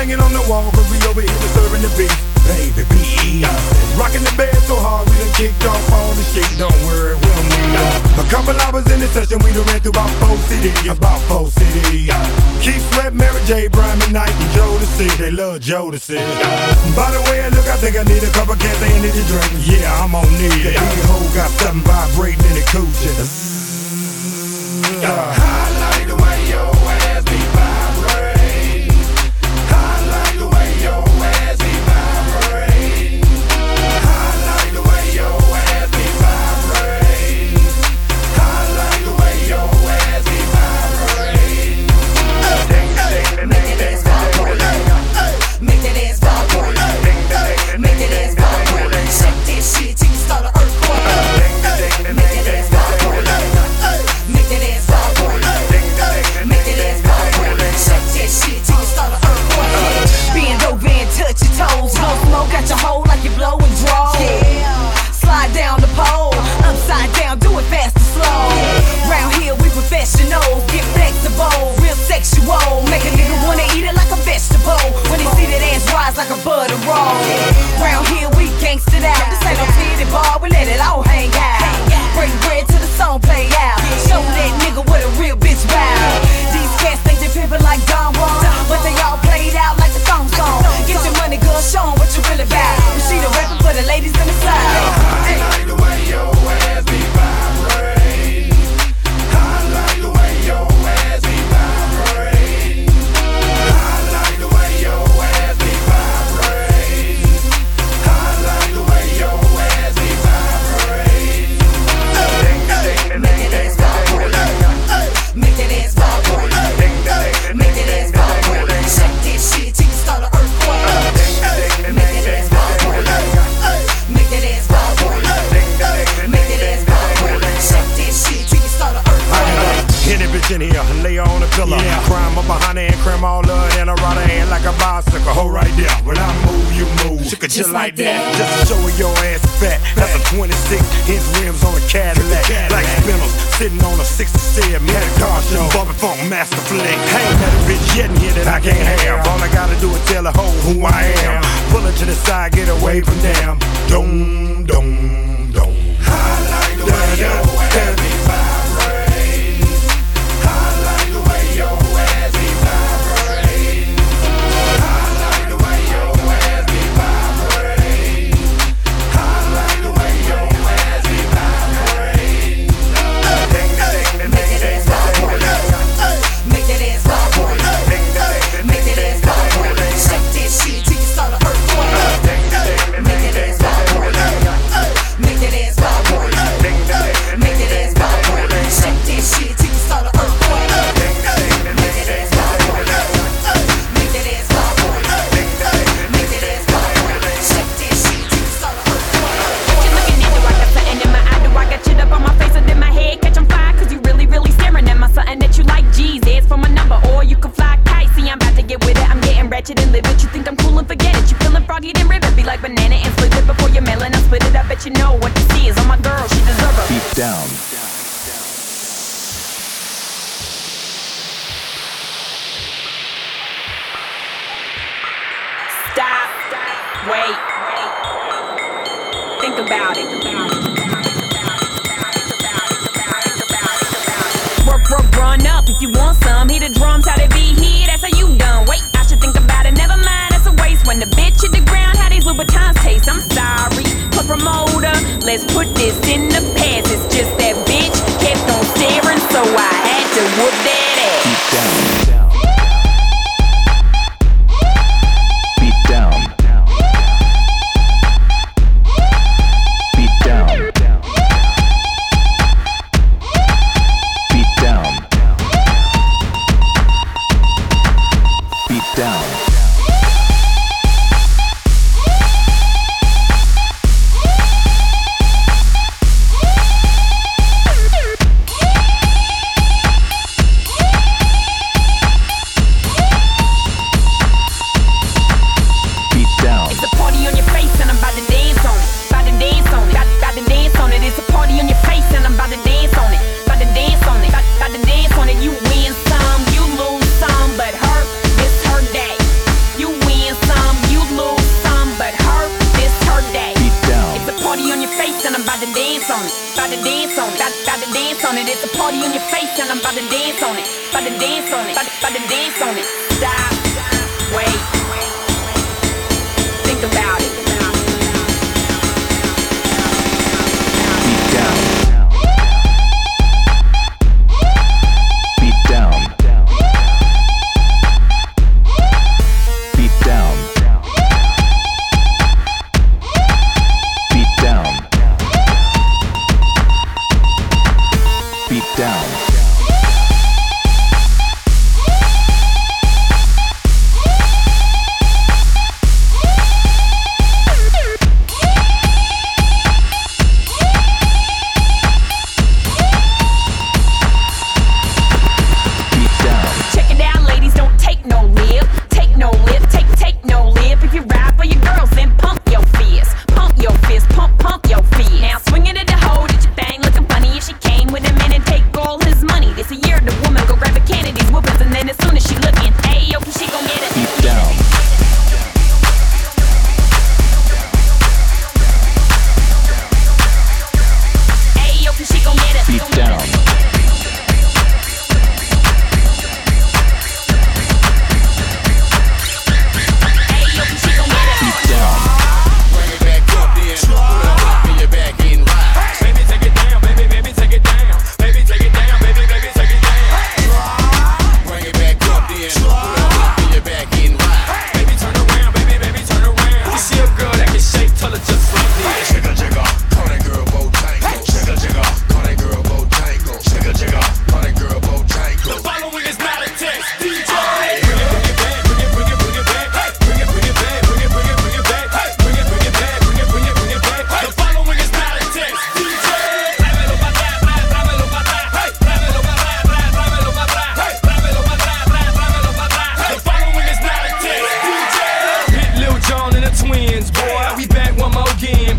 banging on the wall, cause we over here disturbing the beat. Baby, be easy. Rocking the bed so hard, we done kicked off all the shit. Don't worry, we don't need them. A couple hours in the session, we done ran through about 4 CDs. About 4 CDs. Keith Sweat, Mary J, Brian McKnight, and Jodeci. They love Jodeci. By the way, look, I think I need a couple cans of energy drink. Yeah, I'm on need. The hole got something vibrating in the coochie. I like the way your ass be vibrating. I like the way your ass be vibrating. I like the way your ass be vibrating. I like the way your ass be vibrating. Make that ass vibrate. Make that ass vibrate. Make that ass vibrate. Shake that shit till you start an earthquake. Make that ass vibrate. Make that ass vibrate. Make that ass vibrate. Shake that shit till you start an earthquake. Bend over and touch your toes. Blow smoke out your hole like you blowing draw. Slide down the pole, upside down, do it fast and slow. Round here we professionals, get flexible, real sexual. Make a nigga wanna eat it like a vegetable. When they see that ass rise like a butter roll. Round here we gangsta out. This ain't no titty bar, we let it all hang out. Break bread till the song play out. Show that nigga what a real bitch bout. These cats think they pimpin' like Don Juan, but they all played out like the thong song. Get your money, girl, show 'em what you really about. Rashida rapping for the ladies in the side. I like the way your ass be vibrating. I like the way your ass be vibrating. I like the way your ass be vibrating. I like the way your ass be vibrating. Make that ass vibrate. Make that ass vibrate. Make that ass vibrate. Shake that shit till you start an earthquake. Make that ass vibrate. Make that ass vibrate. Make that ass vibrate. Shake that shit till you start an earthquake. Hit it bitch in here, lay her on the pillow. Crime up behind her and cram all her in her right hand like a bicycle. Hold right there. When I move, you move. She could just like that. Just to show her your ass fat. That's a 26-inch rims on a Cadillac. Like spinners sitting on a 67 Met car show. Bobby Funk, Master Flick. Ain't that a bitch yet in here that I can't have. All I gotta do is tell her who I am. Pull her to the side, get away from them. Dum, dum, dum. I like the way your ass be vibrating. I like the way your ass be vibrating. I like the way your ass be vibrating. I like the way your ass be vibrating. Make that ass vibrate. Make that ass vibrate. Make that ass vibrate. Shake that shit till you start an earthquake. Make that ass vibrate. Make that ass vibrate. Make that ass vibrate. Shake that shit till you start an earthquake. Make that ass vibrate. Make that ass vibrate. Make that ass vibrate. Shake that shit till you start an earthquake. What you looking at? Do I got something in my eye? Do I got shit up on my face and in my head? Catch on fire, cause you really, really staring at my something that you like. G's, it's for my number, or you can fly kite. See, I'm about to get with it. I'm getting ratchet and live it. You think I'm cool and forget it. You feeling froggy, then ribbit. Be like banana and split it before you're mailing. I split it. I bet you know what this is. On my girl, she deserve it. Deep down. Stop. Wait. Think about it. Work, run up if you want some. Hear the drums, how they be here. That's how you done. Wait, I should think about it. Never mind, that's a waste. When the bitch hit the ground, how these Louboutins taste. I'm sorry, but promoter, let's put this in the past. It's just that bitch kept on staring, so I had to whoop that ass. Deep down. Beat down. Beat down. Beat down. Beat a party on your face and I'm about to dance on it. About to dance on it. About to dance on it. Stop. Wait. Think about it. Beat down. Beat down. Beat down. Beat down. Beat down. Check it out, ladies, don't take no lip. Take no lip, take no lip. If you ride for your girls, then pump your fist. Pump your fist, pump your fist. Now swing it at the hoe, did you bang looking funny? If she came with a man and take all his money. This a year the woman go grab a Kennedy's whoopers, and then as soon as she looking, hey, yo, she gon' get it. Beat down. Hey, yo, she gon' get it. Beat down. Hey, yo, she gon' get it. Beat down. Bring it back up then. Put a hook in your back and ride. Baby, take it down, baby, baby, take it down. Baby, take it down, baby, baby, take it down. Bring it back up then. Put a hook in your back and ride. Baby, turn around, baby, baby, turn around. You see a girl that can shake, tell her just like this. Jigga jigga, call that girl Bojangle. Jigga jigga, call that girl Bojangle. Jigga jigga, call that girl Bojangle. The following is not a test, DJ. Bring it back, bring it back, hey. Bring it back, bring it back, hey. Bring it back, bring it back, hey. The following is not a test, DJ. Tráemelo pa' atrás, tráemelo pa' atrás, hey. Tráemelo pa' atrás, tráemelo pa' atrás, hey. Tráemelo pa' atrás, tráemelo pa' atrás. The following is not a test, DJ. Hit Lil Jon and the twins, boy. We back one more again,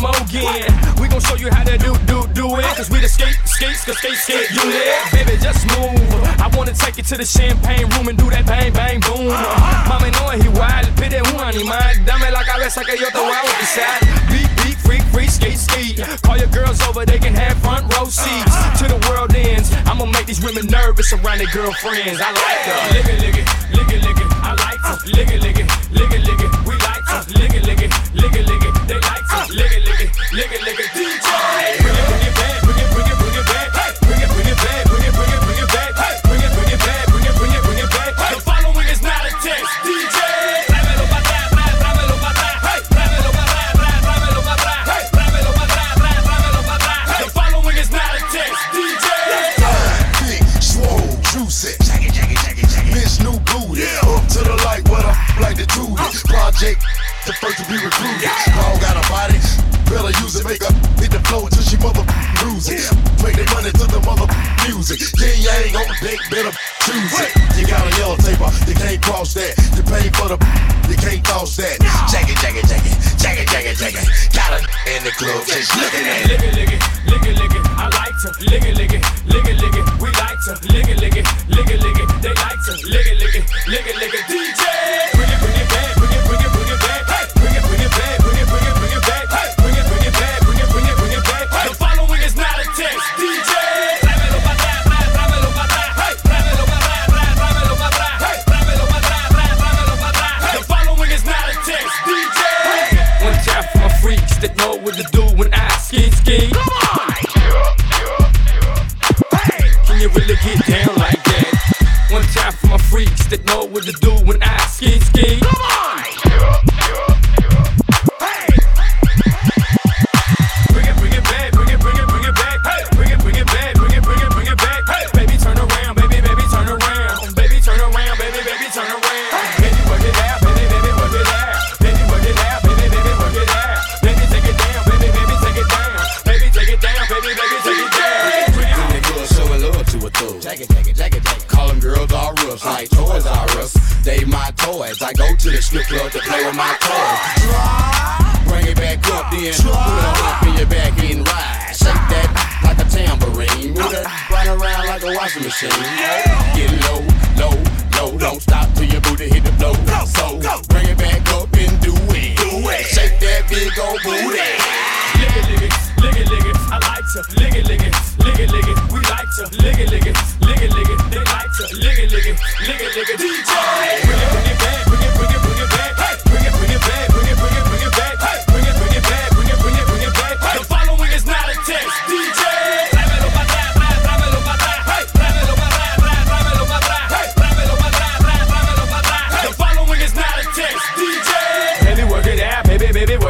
We gon' show you how to do it. Cause we the skate unit. Baby, just move. I wanna take you to the champagne room and do that bang, bang, boom. Mami, no es igual, pide un animal. Dame la cabeza que yo te voy a bautizar. Beat, freak, skate. Call your girls over, they can have front row seats. To the world ends, I'ma make these women nervous around their girlfriends. I like her. Lick it. I like to lick it. We like to lick it. They like to lick it. DJ, bring it back, bring it back, hey. Bring it back, bring it back, hey. Bring it back, hey. The following is not a test, DJ. Tráemelo pa' atrás, tráemelo pa' atrás, hey. Tráemelo pa' atrás, tráemelo pa' atrás, hey. Tráemelo pa' atrás, tráemelo pa' atrás, hey. The following is not a test, DJ. Big, swole, juicy. Miss new booty. Up to the light, what I like to do this. Project, the first to be recruited. Dog got a body, better use it. Make up, hit the flow until she mother lose it. Make the money to the mother music. Yin yang on the deck, better choose it. You got a yellow taper, you can't cross that. You pay for the, you can't toss that. Jack it. Got a in the club, just looking at it. Lick it. I like to lick it. We like to lick it. They like to lick it. DJ, bring it back, bring it back, hey. Bring it back, bring it back, hey. Bring it back, hey. The following is not a test, DJ. Tráemelo pa' atrás, tráemelo pa' atrás, hey. Tráemelo pa' atrás, tráemelo pa' atrás, hey. Tráemelo pa' atrás, tráemelo pa' atrás, hey. The following is not a test, DJ. One time for my freaks that know what to do when I ski. Come on! Hey! Can you really get down like that? One time for my freaks that know what to do when I ski. Come on! Hey! Bring it back, bring it back, hey! Bring it back, bring it back, hey! Baby, turn around, baby, turn around. Baby, turn around, baby, turn around. Baby, work it out, baby, work it out. Baby, work it out, baby, work it out. Baby, take it down, baby, take it down. Baby, take it down, baby, take it down. When they girls showing love to a thug. Jack it. Call them girls all rough, like Toys R Us. They my toys. I go to the strip club to play with my toys. Bring it back up then. Put a hook in your back and ride. Shake that like a tambourine. Move that run around like a washing machine. Get low. Don't stop till your booty hit the floor. So bring it back up and do it. Shake that big old booty. Lick it. I like to lick it. We like to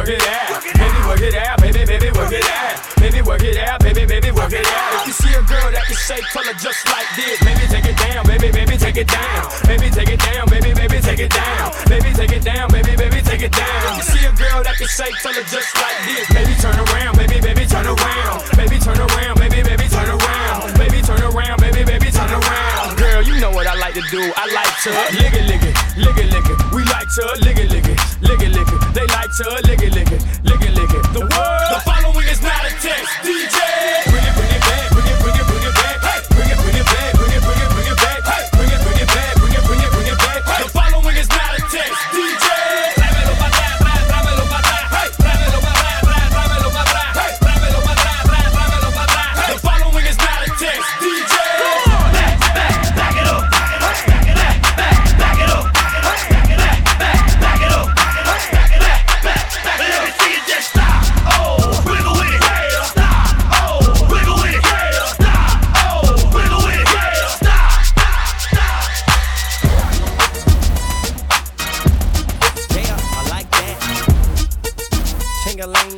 work it out. Baby, work it out. Baby, baby, work it out. Baby, work it out. Baby, baby, work it out. If you see a girl that can shape color just like this, maybe take it down. Baby, baby, take it down. Baby, take it down. Baby, baby, take it down. Baby, take it down. Baby, baby, take it down. If you see a girl that can shape color just like this, maybe turn around. Baby, baby, turn around. Baby, turn around. Baby, baby, turn around. Baby, turn around. Baby, baby, turn around. Girl, you know what I like to do. I like to lick it, lick it, lick it, lick it. We like to lick it, lick it, lick it, lick it. They like to lick it, lick it, lick it, lick it. The following is not a test. DJ, bring it back, bring it back. Hey, bring it back, bring it back. Hey, bring it back, bring it back. The following is not a test. DJ, tráemelo para atrás, tráemelo para atrás. Hey, tráemelo para atrás, tráemelo para atrás. Hey, tráemelo para atrás, tráemelo para atrás. The following is not a test. DJ, back it up, back it up, back it up, back it up, back it up, back it up. Let me see you just stop. Oh, wiggle with it. Stop. Oh, wiggle with it. Stop. Oh, wiggle with it. Stop. Yeah, I like that. Ching-a-ling.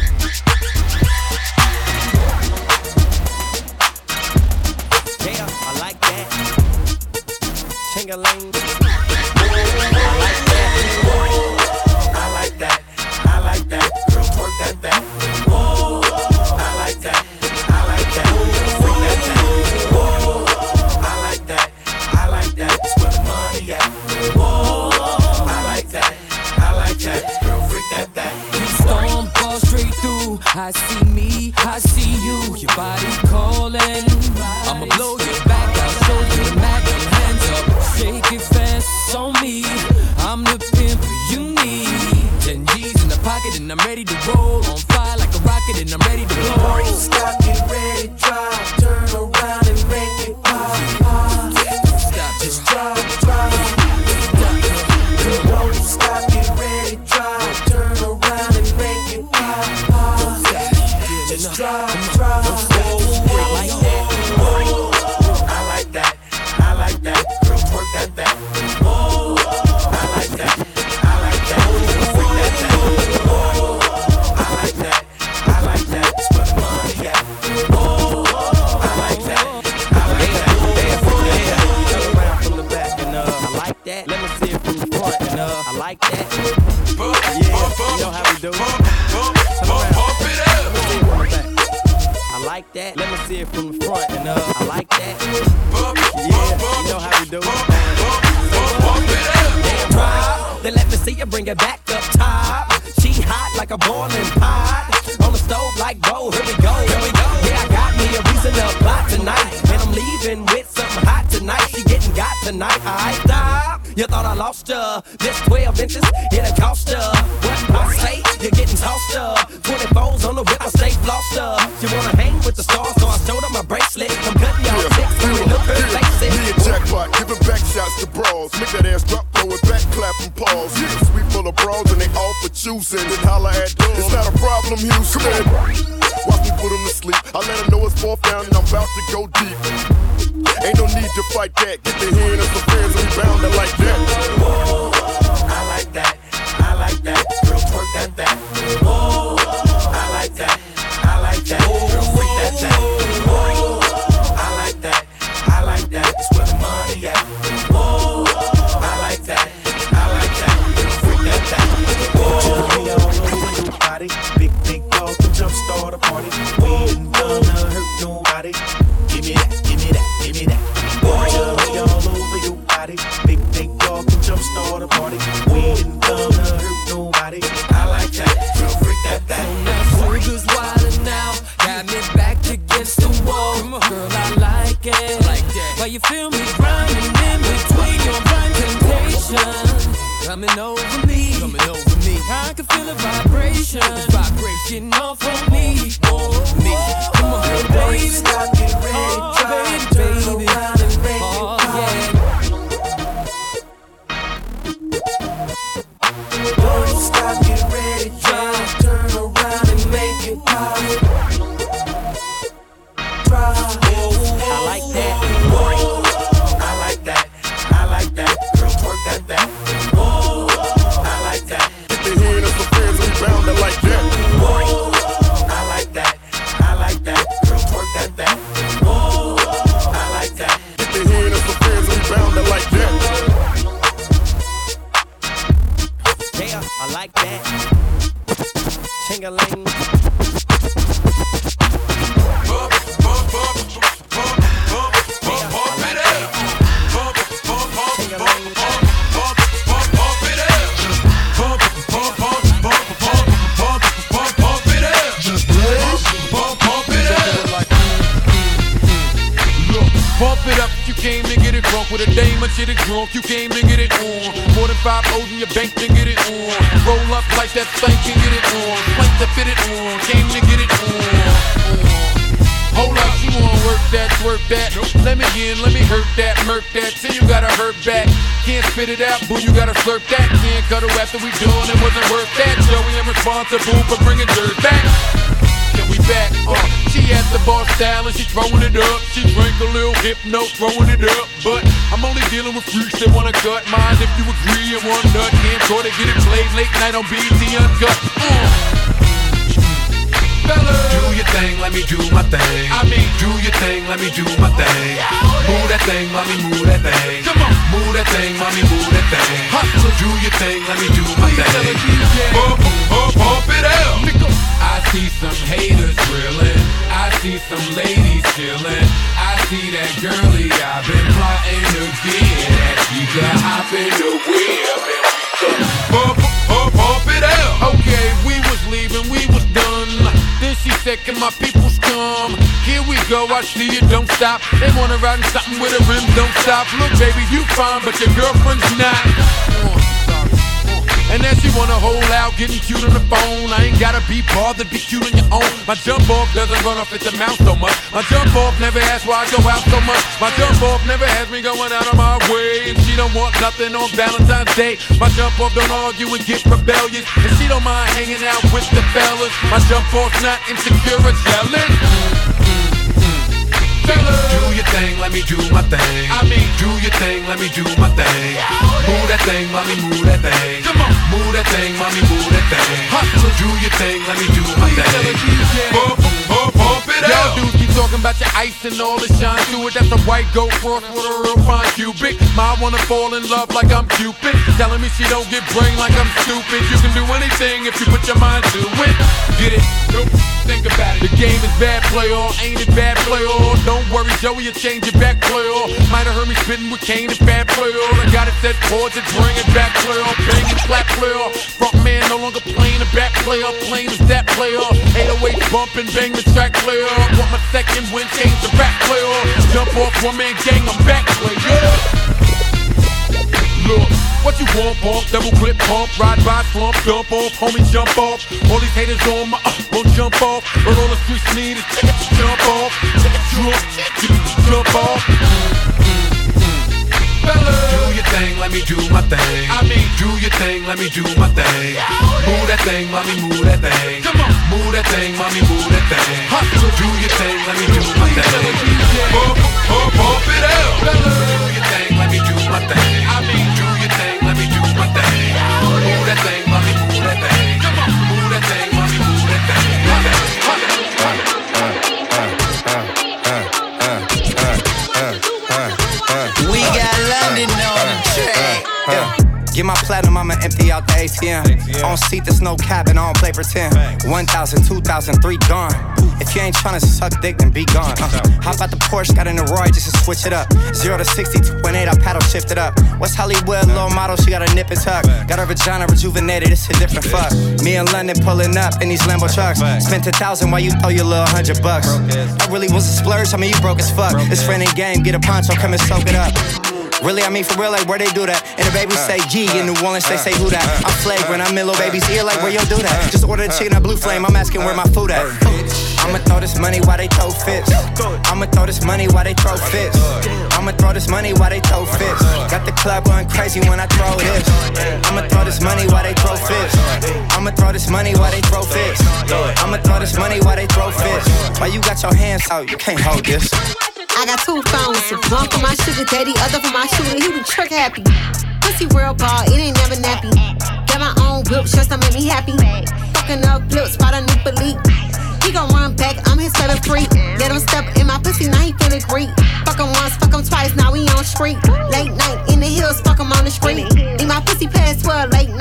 Yeah, I like that. Ching-a-ling. I like that. I like that. I like that. Girl, work that back. Whoa. I like that. I like that. Freak that thing. Whoa. I like that. I like that. It's where the money at. Whoa. I like that. I like that. Girl, freak that thing. Storm fall straight through. I see me, I see you. Your body calling. I'ma blow your back out, show you the magnum. Hands up, shake it fast on me. I'm the pimp you need. 10 G's in the pocket and I'm ready to roll. On fire like a rocket and I'm ready to blow. Stop, get ready, drive. Turn around and make it pop, pop. Stop, Just drive, drive. Don't stop, get ready, drive. Turn around and make it pop, pop. Just drive, drive. I like that. I like that. I like that. Girl, work that back. Whoa. I like that. I like that. Freak that thing. Whoa. I like that. I like that. It's where the money at. Whoa. I like that. I like that. Turn around from the back and I like that. Let me see it from the front and I like that. Yeah, you know how we do. Turn around. Let me see it from the back. I like that. Let me see it from the front and I like that. Yeah, you know how we do. Then let me see you bring it back up top. She hot like a boiling pot. On the stove like, whoa, here we go. Yeah, I got me a reason to plot tonight. And I'm leaving with something hot tonight. She getting got tonight. I stop. You thought I lost her. This 12 inches, it'll cost her. What I say, you're getting tossed up. 24s on the whip, I stay flossed up. She wanna hang with the stars, so I showed her my bracelet. I'm cutting y'all chicks, so they look her face. Me and Jackpot, giving back shots to bras. Make that ass drop, throw it back, clap and pause. Yeah, sweet full of bras and they all for choosing. Then holla at them. It's not a problem, Houston. Watch me put them to sleep. I let her know it's fourth down and I'm about to go deep. Ain't no need to fight that. Get the hand of some friends and we bound to like that. Whoa. I like that. I like that. Girl, work that back. Whoa. I like that. I like that. Girl, freak that thing. Whoa. I like that. I like that. It's where the money at. Whoa. I like that. I like that. Girl, freak that thing. Whoa. All over your body. Big dog can jumpstart a party. We ain't gonna hurt nobody. Give me that. Give me that. Give me that. Whoa. All over your body. Big dog can jumpstart a party. We ain't gonna hurt nobody. I like that. Girl, freak that thing. Now sugar's wildin' now, got me back against the wall. Girl, I like it. Why you feel me grinding in between your blind temptation? Coming over me. I can feel the vibration getting off on me. Come on, baby. Stop, get ready, Oh, baby. Oh, yeah. Don't stop, get ready, drive. Turn around and make it pop. Drive. I like that. I like that. I like that. Girl, work that back. Whoa. I like that. Get the hand of some friends and we bound to Yeah, I like that. Ching-a-ling. Came to get it drunk with a dame and shit it drunk. You came to get it on. More than 5 O's in your bank to get it on. Roll up like that thing can get it on. Plank to fit it on. Came to get it on. Hold up, you wanna work that, twerk that. Let me in, let me hurt that, murk that. Till you gotta hurt back. Can't spit it out, boo, you gotta slurp that. Can't cuddle after we done, it wasn't worth that. Joey, I'm responsible for bringing dirt back. Yeah, we back, she at the bar style and she throwing it up. She drink a little hypno, throwing it up. But I'm only dealing with freaks that wanna cut mine. If you agree and one nut, can't try to get it played late night on BET Uncut. Fellas, do your thing, let me do my thing. I mean, do your thing, let me do my thing. Move that thing, mommy, move that thing. Come on, move that thing, mommy, move that thing. Hustle, do your thing, let me do my thing. Pump it out. I see some haters drilling. I see some ladies chilling. I see that girlie I've been plotting to get at. She could hop in the whip and we could pump it out. Okay, we was leaving, we was done. Then she said, can my peoples come? Here we go, I see you, don't stop. They wanna ride in something with a rim, don't stop. Look, baby, you fine, but your girlfriend's not. And then she wanna hold out, getting cute on the phone. I ain't gotta be bothered, be cute on your own. My jump off doesn't run off at the mouth so much. My jump off never asks why I go out so much. My jump off never has me going out of my way. And she don't want nothing on Valentine's Day. My jump off don't argue and get rebellious. And she don't mind hanging out with the fellas. My jump off's not insecure or jealous. Do your thing, let me do my thing. I mean, do your thing, let me do my thing. Move that thing, mommy, move that thing. Come on, move that thing, mommy, move that thing. Hustle, do your thing, let me do my thing. Pump it out. Y'all dudes keep talking about your ice and all the shine to it. That's a white gold cross with a real fine cubic. Ma wanna fall in love like I'm Cupid. Telling me she don't get brain like I'm stupid. You can do anything if you put your mind to it. Get it? Nope. Think about it. The game is bad, play all. Ain't it bad, play all? Don't worry, Joey, you'll change it back, play all. Might have heard me spitting with Kane and bad, play all. I got it set chords and bring it back, play all. Bang and clap, play all. Front man no longer playing the back, play all. Plain as that, play all. 808 bump and bang the track, play all. Want my second win, change the back, play all. Jump off one man gang, I'm back, play all. Look, what you want, bump, double clip, pump, ride by, slump, dump off, homie, jump off. All these haters on my won't jump off. But all the streets need is jump off, jump off. Fellas, do your thing, let me do my thing. I mean, do your thing, let me do my thing. Move that thing, mommy, move that thing. Come on, move that thing, mommy, move that thing. Hustle, do your thing, let me do my thing. Pump it out. Fellas, do your thing, let me do my thing. I mean, do your thing, let me do my thing. Move that thing, mommy, move that thing. Come on, move that thing, mommy, move that thing. We got London on the track. Yeah. Get my platinum, I'ma empty out the ATM. On seat, there's no cap and I don't play pretend. 1,000, 2,000, 3 gone. If you ain't tryna suck dick, then be gone. Hop out the Porsche, got in the Roy just to switch it up. 0 to 60, 2.8, I paddle shift it up. West Hollywood, little model, she got a nip and tuck. Got her vagina rejuvenated, it's a different fuck. Me in London pulling up in these Lambo trucks. Spent 1,000 while you throw your little $100. That really was a splurge, I mean you broke as fuck. It's friend and game, get a poncho, come and soak it up. Really, I mean for real, like where they do that? And the baby say G, in New Orleans they say who that? I'm flagrant, I'm in little baby's ear, like where yo do that? Just order the chicken at Blue Flame, I'm asking where my food at. I'ma throw this money while they throw fits. I'ma throw this money while they throw fits. I'ma throw this money while they throw fits. Got the club going crazy when I throw this. I'ma throw this money while they throw fits. I'ma throw this money while they throw fits. I'ma throw this money while they throw fits. While you got your hands out, you can't hold this. I got 2 phones, one for my sugar daddy, other for my shooter, he be trick happy. Pussy real ball, it ain't never nappy. Got my own whip, just to make me happy. Fucking up flips, spot a new elite. He gon' run back, I'm his favorite freak. Let him step in my pussy, now he feeling great. Fuck him once, fuck him twice, now we on street. Late night in the hills, fuck him on the street. Need my pussy past 12, late night free.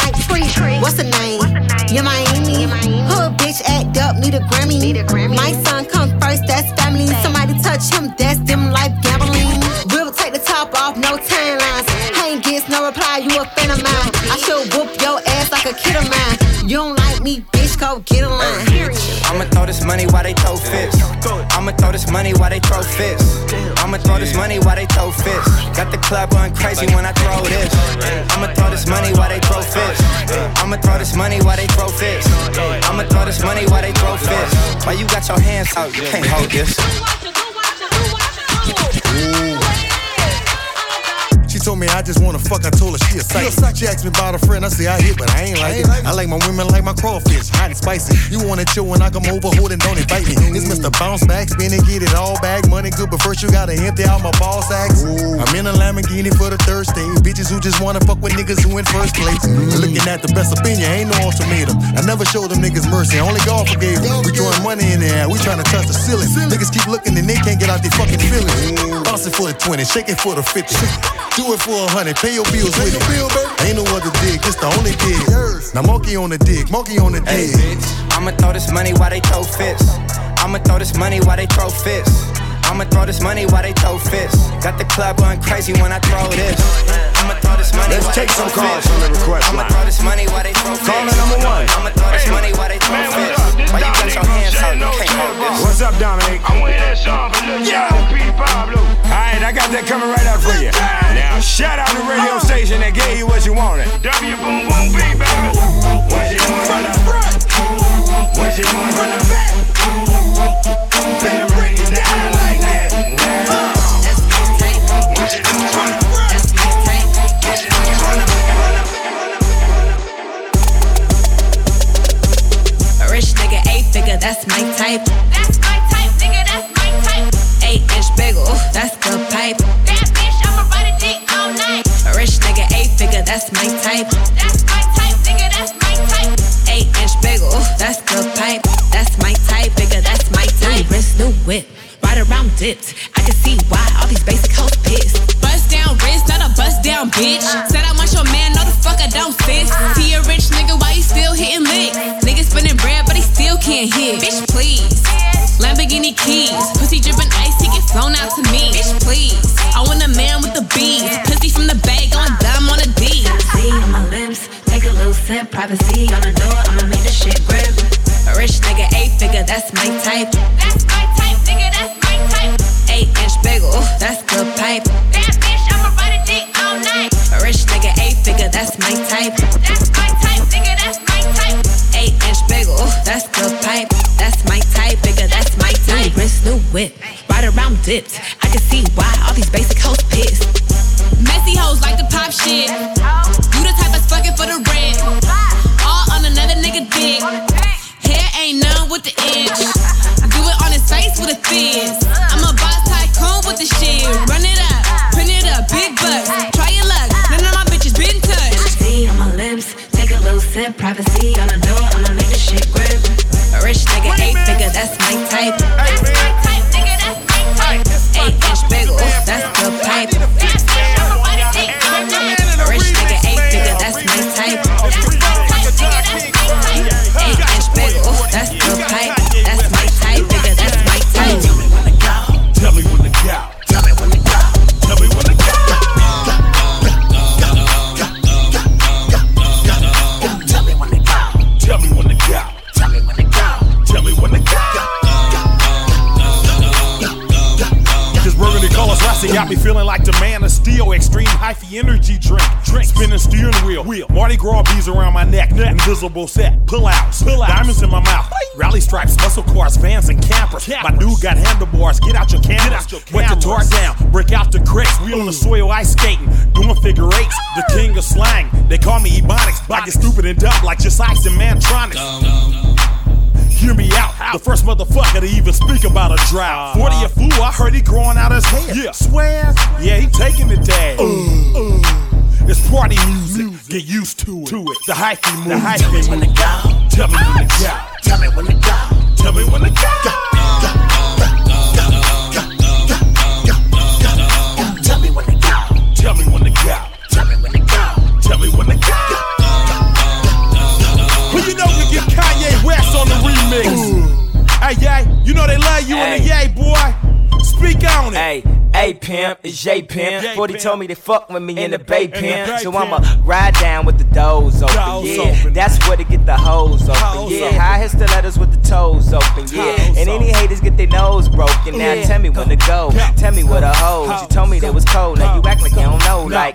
treat. What's the name? Yeah, Miami. Hood bitch act up, need a Grammy. My son come first, that's family. Somebody touch him, that's them life gambling. We'll take the top off, no timelines. I ain't gets no reply, you a fan of mine. I should whoop your ass like a kid of mine. You don't like me, bitch, go get a line. I'ma throw this money while they throw fists. I'ma throw this money while they throw fists. I'ma throw this money while they throw fists. Got the club going crazy when I throw this. I'ma throw this money while they throw fists. I'ma throw this money while they throw fists. I'ma throw this money while they throw fists. Why you got your hands out? You can't hold this. She told me I just wanna fuck, I told her she a psychic. She asked me about a friend, I say I hit, but I ain't like it. I like my women like my crawfish, hot and spicy. You wanna chill when I come over, hold and don't invite me. It's Mr. Bounce Back, spin and get it all back. Money good, but first you gotta empty out my ball sacks. I'm in a Lamborghini for the third stage. Bitches who just wanna fuck with niggas who in first place. Looking at the best opinion, ain't no ultimatum. I never showed them niggas mercy, only God forgave them. We throwing money in the air, we tryna touch the ceiling. Niggas keep looking and they can't get out their fucking feelings. Bounce it for the 20, shake it for the 50. Do it for 100, pay your bills with it. Ain't no other dig, this the only dig. Now monkey on the dig, monkey on the dig. Hey, I'ma throw this money while they throw fists. I'ma throw this money while they throw fists. I'ma throw this money while they throw fists. Got the club going crazy when I throw this. I'ma throw this money. Let's take some calls from the request line. I'ma throw this money while they throw fists. Caller number one. I'ma throw this money while they throw fists. Why you got your hands out? You can't hold this. What's up, Dominic? I want that song for Lil P. Pablo. Alright, I got that coming right out for you. Now, shout out the radio station that gave you what you wanted. W boom boom B, baby. What you want from the front? What you want from the back? Better break it down like that. What you want from the front? What you want from the back? A rich nigga, 8-figure, that's my type. That's my type, nigga, that's my type. 8-inch bagel, that's the pipe. That bitch, I'ma ride a dick all night. A rich nigga, 8-figure, that's my type. That's my type, nigga, that's my type. 8-inch bagel, that's the pipe. That's my type, nigga, that's my type. New wrist, new whip, ride around dipped. I can see why all these basic hoes pissed. Bust down wrist, not a bust down bitch. Said I want your man, no the fuck I don't fit. See a rich nigga, why he still hitting licks? Nigga spinning bread, but he still can't hit. Bitch, please. Lamborghini keys, pussy dripping ice, he get flown out to me. Bitch, please. I want a man with the bees, pussy from the bag, going dumb on a D. See on my lips, take a little sip, privacy on the door, I'ma make the shit grip. A rich nigga, 8-figure, that's my type. That's my type, nigga, that's my type. 8-inch bagel, that's the pipe. That bitch, I'ma ride a dick all night. A rich nigga, 8-figure, that's my type. That's my type, nigga, that's my type. 8-inch bagel, that's the pipe. That's my type, nigga, that's my type. New wrist, new whip, ride around dipped. I can see why all these basic hoes pissed. Messy hoes like to pop shit. You the type that's fucking for the rent. All on another nigga dick. Hair ain't none with the inch. Do it on his face with a fizz. I'm a boss tycoon with the shit. Run it up, print it up, big bucks. Try your luck, none of my bitches been touched. See on my lips, take a little sip, privacy on the door, I'ma make the shit grip. A rich nigga, 8-figure, that's my type. That's my type, nigga, that's my type. 8-inch bagel, that's the pipe. A rich nigga, 8-figure, that's my type. That's my type, nigga, that's my type. 8-inch bagel, that's the pipe. That's my type, nigga, that's my type. Tell me when to go. Tell me when to go. Tell me when to go. Tell me when to go. Tell me when to go. Tell me when to go. Tell me when to go. This burgundy color swassy got me feeling like the man of steel. Extreme hyphy energy drink. Spinning steering wheel. Mardi Gras beads around my neck. Invisible set. Pull outs. Diamonds in my mouth. Rally stripes, muscle cars, vans, and campers. My dude got handlebars. Get out your cameras. Wet the tar down. Break out the cracks. We on the soil ice skating. Doing figure eights. The king of slang. They call me Ebonics. I get stupid and dumb like just ice and Mantronics. Hear me out, the first motherfucker to even speak about a drought. 40 a fool, I heard he growing out his hair. Yeah, swear, yeah, he taking the day. It's party music, get used to it. The hyphy move. Tell me when to go. Tell me when to go. Tell me when to go. Tell me when to go. Tell me when to go. Tell me when to go. Tell me when to go. Tell me when to go. you in the yay, boy. Speak on it. Hey, A-Pimp, it's J-Pimp. 40 told me they fuck with me in the Bay Pimp. So I'ma ride down with the doors open, yeah. That's where to get the hoes open, yeah. High hit stilettos with the toes open, yeah. And any haters get their nose broken. Now tell me when to go, tell me where the hoes. You told me they was cold, now you act like you don't know, like.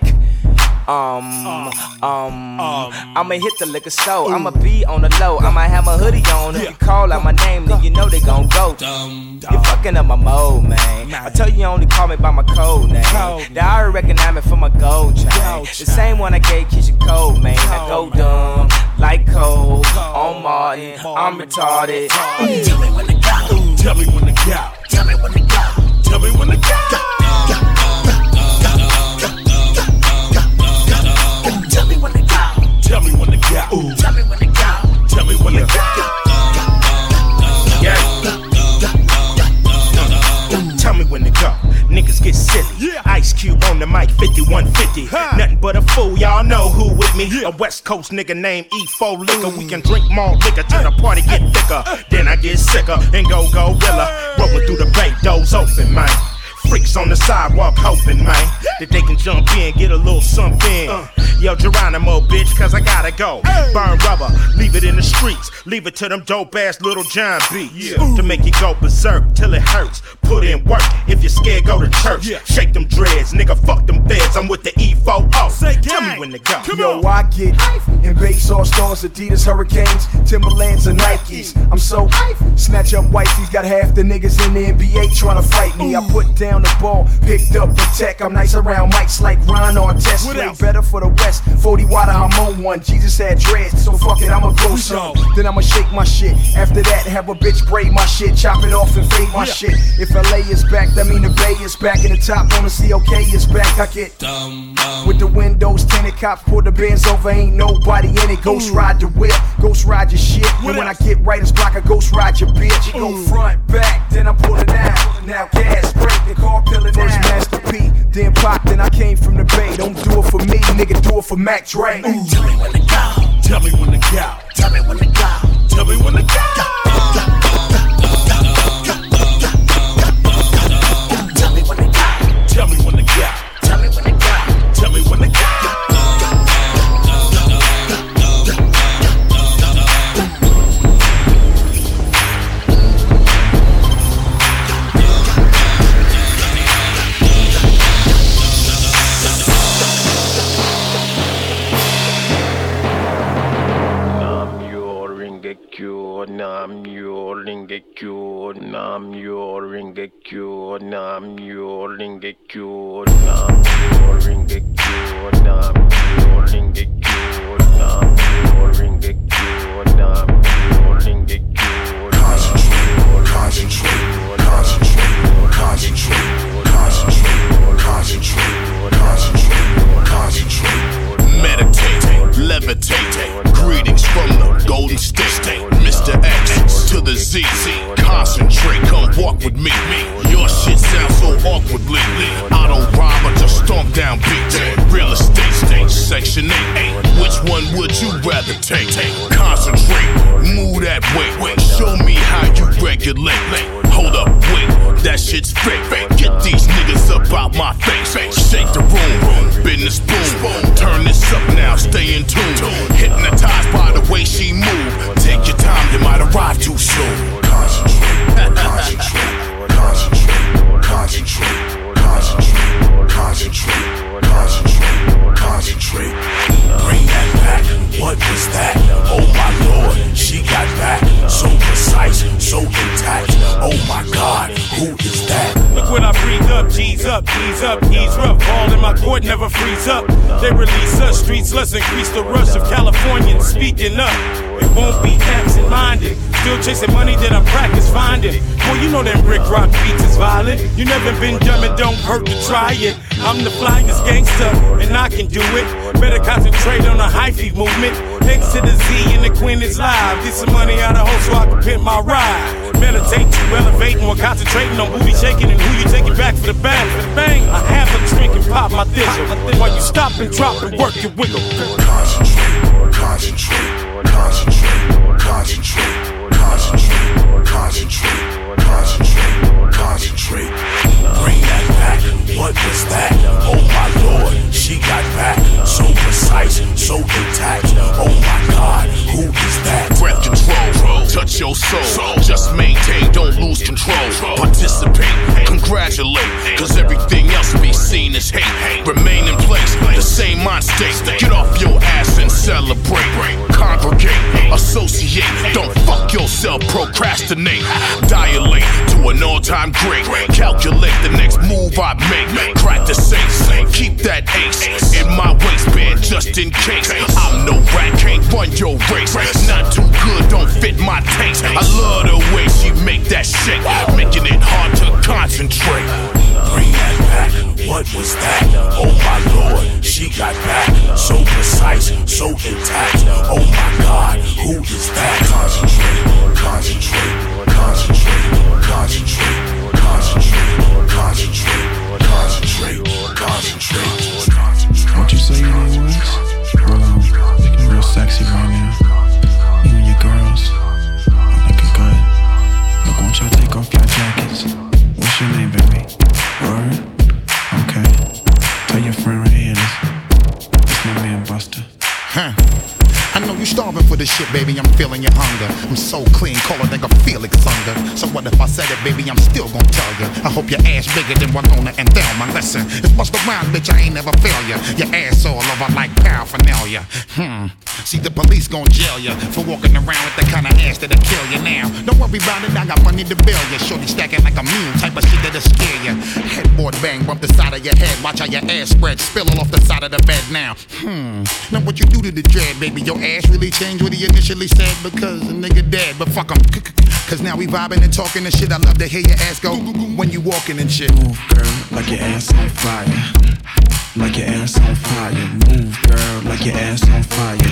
I'ma hit the liquor store. I'ma be on the low. I might have my hoodie on. If you call out my name, then you know they gon' go. You fucking up my mode, man. I tell you only call me by my code name. They already recognize me for my gold chain. The same one I gave Keisha Cole, man. I go dumb like Cole on Martin. I'm retarded. Tell me when to go. Tell me when to go. Tell me when to go. Tell me when to go. Tell me when to go. Tell me when to go. Tell me when to go. Tell me when to go. Yeah. Tell me when to go. Niggas get silly. Ice Cube on the mic, 5150. Nothing but a fool, y'all know who with me. A West Coast nigga named E4 Liquor. We can drink more liquor till the party get thicker. Then I get sicker and go gorilla. Rolling through the bank, doors open, man. Freaks on the sidewalk hoping, man, that they can jump in, get a little something. Yo, Geronimo, bitch, cause I gotta go. Burn rubber, leave it in the streets. Leave it to them dope ass Little John beats. To make you go berserk till it hurts. Put in work, if you're scared, go to church. Shake them dreads, nigga, fuck them feds. I'm with the E4O. Tell me when to go. Yo, I get in base all stars, Adidas, Hurricanes, Timberlands, and Nikes. I'm so snatch up wifeys, got half the niggas in the NBA trying to fight me. I put down the ball, picked up the tech. I'm nice around mics like Ron Artest. Play better for the West. 40 water, I'm on one. Jesus had dreads, so fuck it, I'ma go some. Then I'ma shake my shit. After that, have a bitch braid my shit, chop it off and fade my shit. If LA is back, that mean the Bay is back. And the top on the COK is back. I get with the windows tinted, cops pull the Benz over, ain't nobody in it. Ghost ride the whip, ghost ride your shit. And when I get right, it's block, I ghost ride your bitch. Go front, back, then I'm pulling out. Now gas, break, the car pillin' first Master P, then Pop, then I came from the Bay. Don't do it for me, nigga, do it for Mac Dre. Tell me when to go. Tell me when to go. Tell me when to go. Tell me when to go. Tell me when to go. Tell me when to go. Tell me when to go. Tell me when to go. Nam yo ringekyo, nam yo ringekyo, nam yo ringekyo, nam yo ringekyo, nam yo ringekyo, nam yo ringekyo, nam yo ringekyo. Concentrate, concentrate, concentrate, concentrate, concentrate, concentrate. Meditate, levitate, greetings from the Golden State. Mr. X to the Z, concentrate, come walk with me. Your shit sounds so awkwardly. I don't rhyme, I just stomp down beats. Real estate, section 8. Which one would you rather take? Concentrate, move that way. Show me how you regulate. Hold up, wait, that shit's fake. Get these niggas up out my face. Shake the room, bend the spoon. Turn this up now, stay in tune. Hypnotized by the way she move. Take your time, you might arrive too soon. Concentrate, concentrate, concentrate, concentrate, concentrate, concentrate, concentrate, concentrate. Bring that back. What was that? Oh my Lord, she got back. So precise, so intact. Oh my God, who is that? Look when I breathe up, G's up, ease up, ease rough. All in my court never freeze up. They release us, streets let's increase the rush of Californians speaking up. It won't be absent-minded. Still chasing money that I'm practice finding. Boy, you know them brick rock beats is violent. You never been dumb, it don't hurt to try it. I'm the flyest gangster, and I can do it. Better concentrate on the hyphy movement. X to the Z and the Queen is live. Get some money out of hoe so I can pimp my ride. Meditate to elevating while concentrating on booty shaking and who you taking back for the bang. For the bang, I have a drink and pop my thistle while you stop and drop and work your wiggle. Concentrate, concentrate, concentrate, concentrate, concentrate, concentrate, concentrate. Oh my God, who is that? Breath control, touch your soul. Just maintain, don't lose control. Participate, congratulate, cause everything else be seen as hate. Remain in place, the same mind state. Get off your ass and celebrate. Congregate, associate, don't fuck yourself, procrastinate. Dilate to an all-time great. Calculate the next move I make. Crack the safe, keep that ace in my waistband just in case. I'm no rat, can't run your race. Not too good, don't fit my taste. I love the way she make that shake, making it hard to concentrate. Bring that back, what was that? Oh my Lord, she got back. So precise, so intact. Oh my God, who is that? Concentrate, concentrate, concentrate, concentrate, concentrate, concentrate, concentrate, concentrate. What you say your name was? Well, looking real sexy right now. You and your girls are looking good. Look, won't y'all take off your jackets? What's your name, baby? Word? Okay. Tell your friend right here, this my man Buster. Huh. I know you starving for this shit, baby, I'm feeling your hunger. I'm so clean, call it like a Felix Unger. So what if I said it, baby, I'm still gonna tell you. I hope your ass bigger than Winona and Thelma. Listen, it's bust around, bitch, I ain't never fail ya. Your ass all over like paraphernalia. See, the police gon' jail ya for walking around with the kind of ass that'll kill you now. Don't worry about it, I got money to bill ya. Shorty stacking like a mule, type of shit that'll scare ya. Headboard bang, bump the side of your head. Watch how your ass spread, spill all off the side of the bed now. Now what you do to the dread, baby, your ass really changed what he initially said because the nigga dead, but fuck him. Cause now we vibing and talking and shit. I love to hear your ass go when you walking and shit. Move, girl, like your ass on fire. Like your ass on fire. Move, girl, like your ass on fire.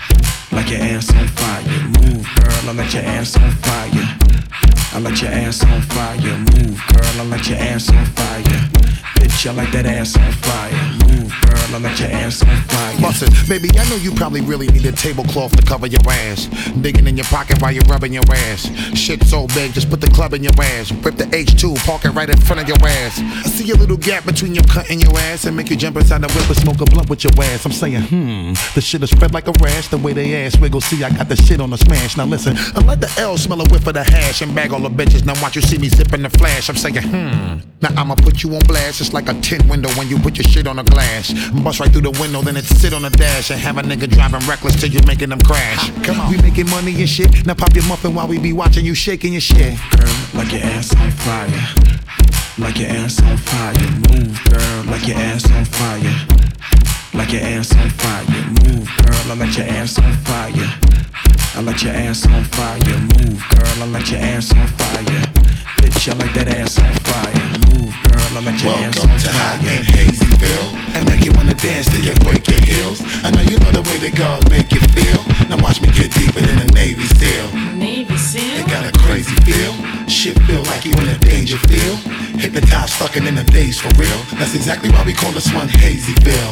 Like your ass on fire. Move, girl, I let your ass on fire. I let your ass on fire. Move, girl, I let your ass on fire. Bitch, I like that ass on fire. Move, girl, I let your ass on fire. Bust it, baby, I know you probably really need a tablecloth to cover your ass. Digging in your pocket while you're rubbing your ass. Shit so big, just put the club in your ass. Rip the H2, park it right in front of your ass. I see a little gap between your cut and your ass and make you jump inside the whip and smoke a blunt with your ass. I'm saying, the shit is spread like a rash. The way they ass wiggle, see I got the shit on the smash. Now listen, I let the L smell a whiff of the hash and bag all the bitches. Now watch you see me zipping the flash. I'm saying, now I'ma put you on blast. It's like a tint window when you put your shit on a glass. Bust right through the window, then it sit on the dash and have a nigga driving reckless till you making them crash. Come on, we making money and shit. Now pop your muffin while we be watching you shaking your shit. Girl, like your ass on fire. Like your ass on fire. Move, girl, like your ass on fire. Like your ass on fire. Move, girl, I let your ass on fire. I let your ass on fire. Move, girl, I let your ass on fire. Bitch, I like that ass on fire. Move, girl, I let your ass on fire. Welcome to Hot and Hazyville. I make you wanna dance till you break your heels. I know you know the way the girls make you feel. Now watch me get deeper than a Navy SEAL. Navy SEAL? They got a crazy feel. Shit feel like you in a danger field. Hypnotized, fucking in the days for real. That's exactly why we call this one Hazyville.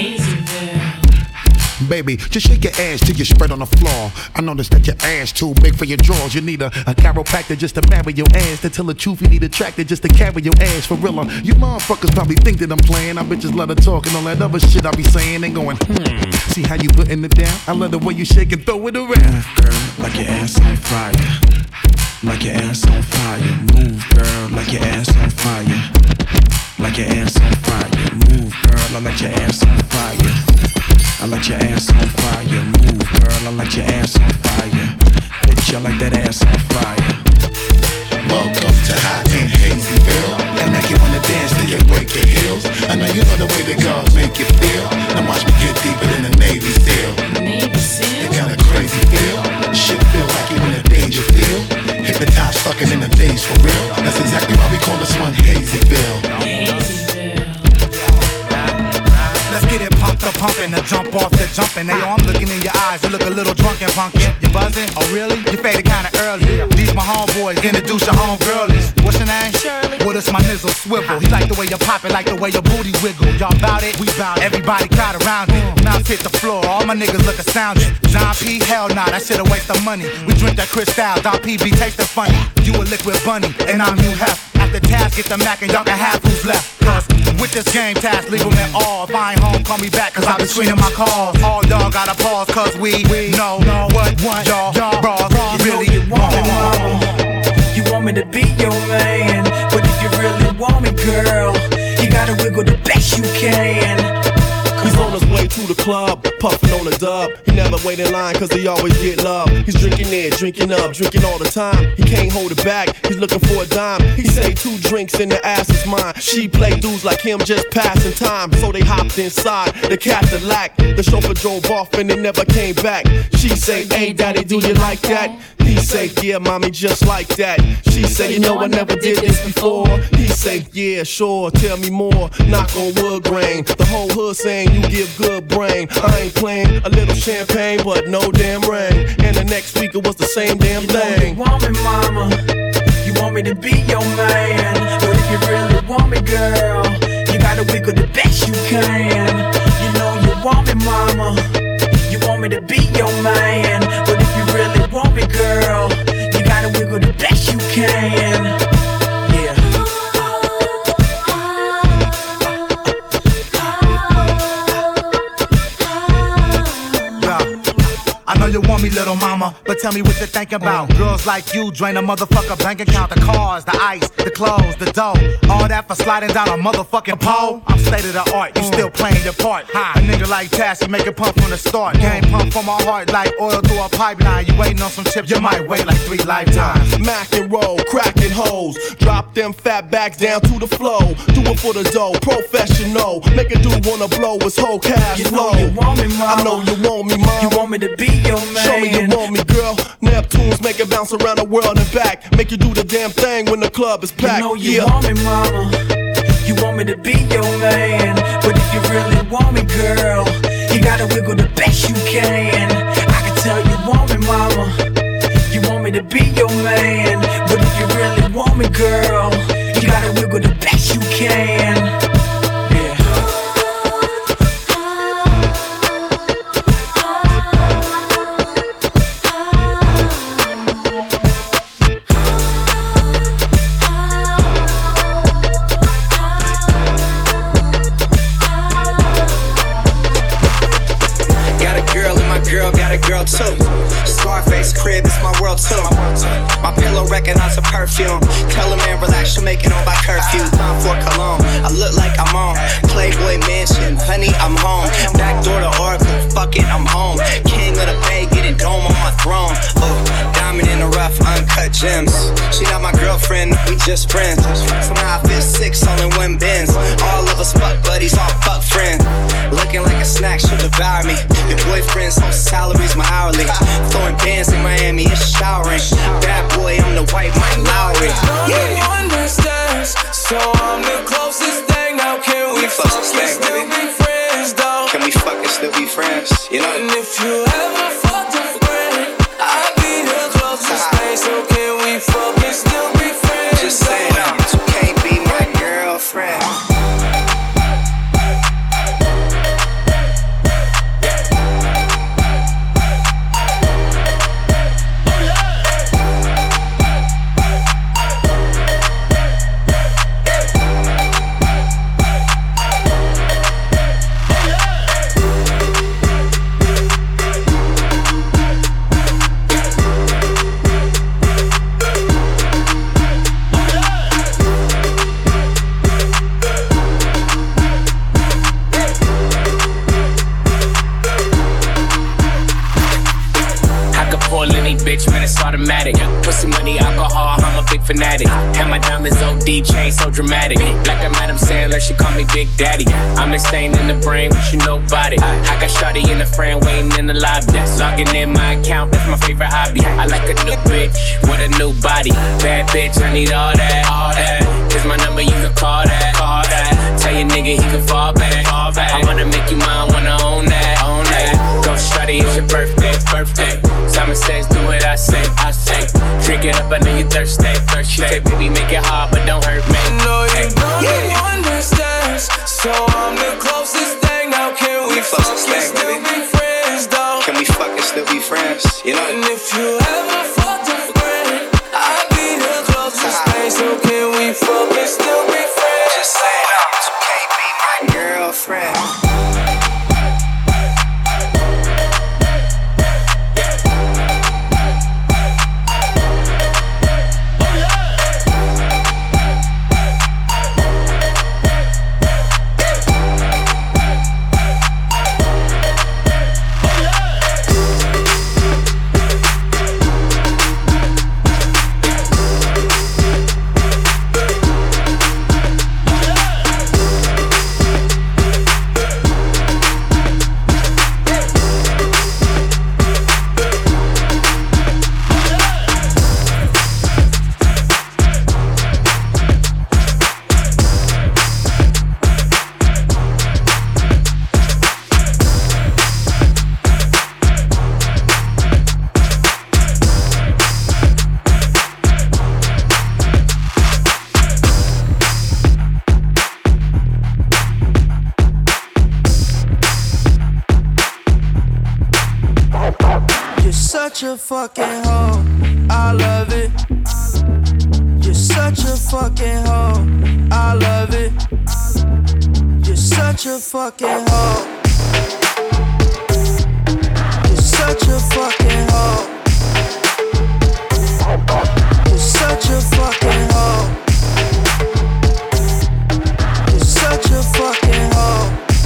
Baby, just shake your ass till you spread on the floor. I noticed that your ass too big for your drawers. You need a chiropractor just to marry your ass. To tell the truth, you need a tractor just to carry your ass for real. You motherfuckers probably think that I'm playing. I bitches love to talk and all that other shit I be saying and going, See how you putting it down? I love the way you shake and throw it around. Girl, like your ass on fire. Like your ass on fire. Move, girl, like your ass on fire. Like your ass on fire. Move, girl, I let your ass on fire. I let your ass on fire. Move, girl, I let your ass on fire. Bitch, I like that ass on fire. Welcome to Hot and Hazyville. I make you wanna dance till you break your heels. I know you know the way the girls make you feel. Now watch me get deeper than a Navy SEAL. They got a crazy feel. Shit feel like you in a danger field. Hypnotized, fucking in the days for real. That's exactly why we call this one Hazyville. Let's get it pumped up, pumping, the jump off the jumping. Hey, yo, I'm looking in your eyes, you look a little drunk and funky. You buzzing? Oh, really? You faded kinda early. These my homeboys, introduce your homegirlies. What's your name? Shirley. Well, it's my nizzle swivel. He like the way you pop it, like the way your booty wiggle. Y'all bout it? We bout it. Everybody crowd around it. Mouth hit the floor, all my niggas look astounded. John P, hell nah, that shit a waste of money. We drink that Cristal, Don PB tasting funny. You a liquid bunny, and I'm Hugh Hef. After Taz get the Mac and y'all can have who's left. Cause with this game task, legal and all. If I ain't home, call me back, cause I been screening my calls. All y'all gotta pause, cause we know what y'all bras really want. You want me to be your man, but if you really want me, girl, you gotta wiggle the best you can. He's on his way to the club, puffing on a dub. He never wait in line cause he always get love. He's drinking there, drinking up, drinking all the time. He can't hold it back, he's looking for a dime. He say 2 drinks and the ass is mine. She play dudes like him just passing time. So they hopped inside the Cadillac. The chauffeur drove off and they never came back. She say, hey daddy, do you like that? He say, yeah mommy, just like that. She say, you know I never did this before. He say, yeah sure, tell me more. Knock on wood grain, the whole hood saying you give good brain. I ain't playing, a little champagne but no damn rain. And the next week it was the same damn thing. You want me mama, you want me to be your man, but if you really want me girl, you gotta wiggle the best you can. You know you want me mama, you want me to be your man, but if you really want me girl, you gotta wiggle the best you can. I know you want me, little mama, but tell me what you're thinking about. Girls like you drain a motherfucker bank account. The cars, the ice, the clothes, the dough. All that for sliding down a motherfucking pole. I'm state of the art, you still playing your part. A nigga like Tash, you make it pump from the start. Game pump from my heart like oil through a pipeline. You waiting on some chips, you might wait like 3 lifetimes. Mac and roll, cracking hoes. Drop them fat bags down to the flow. Do it for the dough, professional. Make a dude wanna blow his whole cash flow. You want me, mama. I know you want me, mom. You want me to be your man. Show me you want me, girl. Neptunes make it bounce around the world and back. Make you do the damn thing when the club is packed. You know you want me, mama. You want me to be your man, but if you really want me, girl, you gotta wiggle the best you can. I can tell you want me, mama. You want me to be your man, but if you really want me, girl, you gotta wiggle the best you can. Too. Scarface crib is my world too. My pillow recognize a perfume. Tell a man relax, you make it on by curfew. Time for cologne, I look like I'm on Playboy Mansion, honey I'm home. Back door to Oracle, fuck it I'm home. King of the Bay, getting dome on my throne. Oh, diamond in the rough, uncut gems. She not my girlfriend, we just friends. Somehow I feel 6 all in one Benz. All of us fuck buddies, all fuck friends. Looking like a snack, she'll devour me. Your boyfriend's whole salary's my hourly. Throwing bands in Miami, it's showering. Bad boy, I'm the white Mike Lowry. You understand, so I'm the closest thing. Now can we fuck and still be friends, though? Can we fuck and still be friends? You know? And if you ever fucked a friend, I'll be the closest thing. So can we fuck and still be friends? Just saying, you can't be my girlfriend. Bitch, man, it's automatic. Pussy, money, alcohol, I'm a big fanatic. And my diamonds OD chain so dramatic. Like I'm Adam Sandler, she call me Big Daddy. I'm the stain in the brain, but you nobody. I got shawty in the frame, waiting in the lobby. Logging in my account, that's my favorite hobby. I like a new bitch with a new body. Bad bitch, I need all that, all that. Here's my number, you can call that, call that. Tell your nigga he can fall back, fall back. I wanna make you mine, wanna own that, own that. Go shawty, it's your birthday, birthday. Simon says, do what I say, I say. Drink it up, I know you thirsty, thirsty. Baby, make it hard, but don't hurt me. No, you don't understand. So I'm the closest thing. Now can we fuck and still be friends, though? Can we fuck and still be friends? You know? And if you ever fucked a friend, I'll be the closest thing. So can we fuck and still be friends? Just saying, you can't be such a fucking hoe. I love it. You're such a fucking hoe. I love it. You're such a fucking hoe. You're such a fucking hoe. You're such a fucking hoe. You're such a fucking hoe.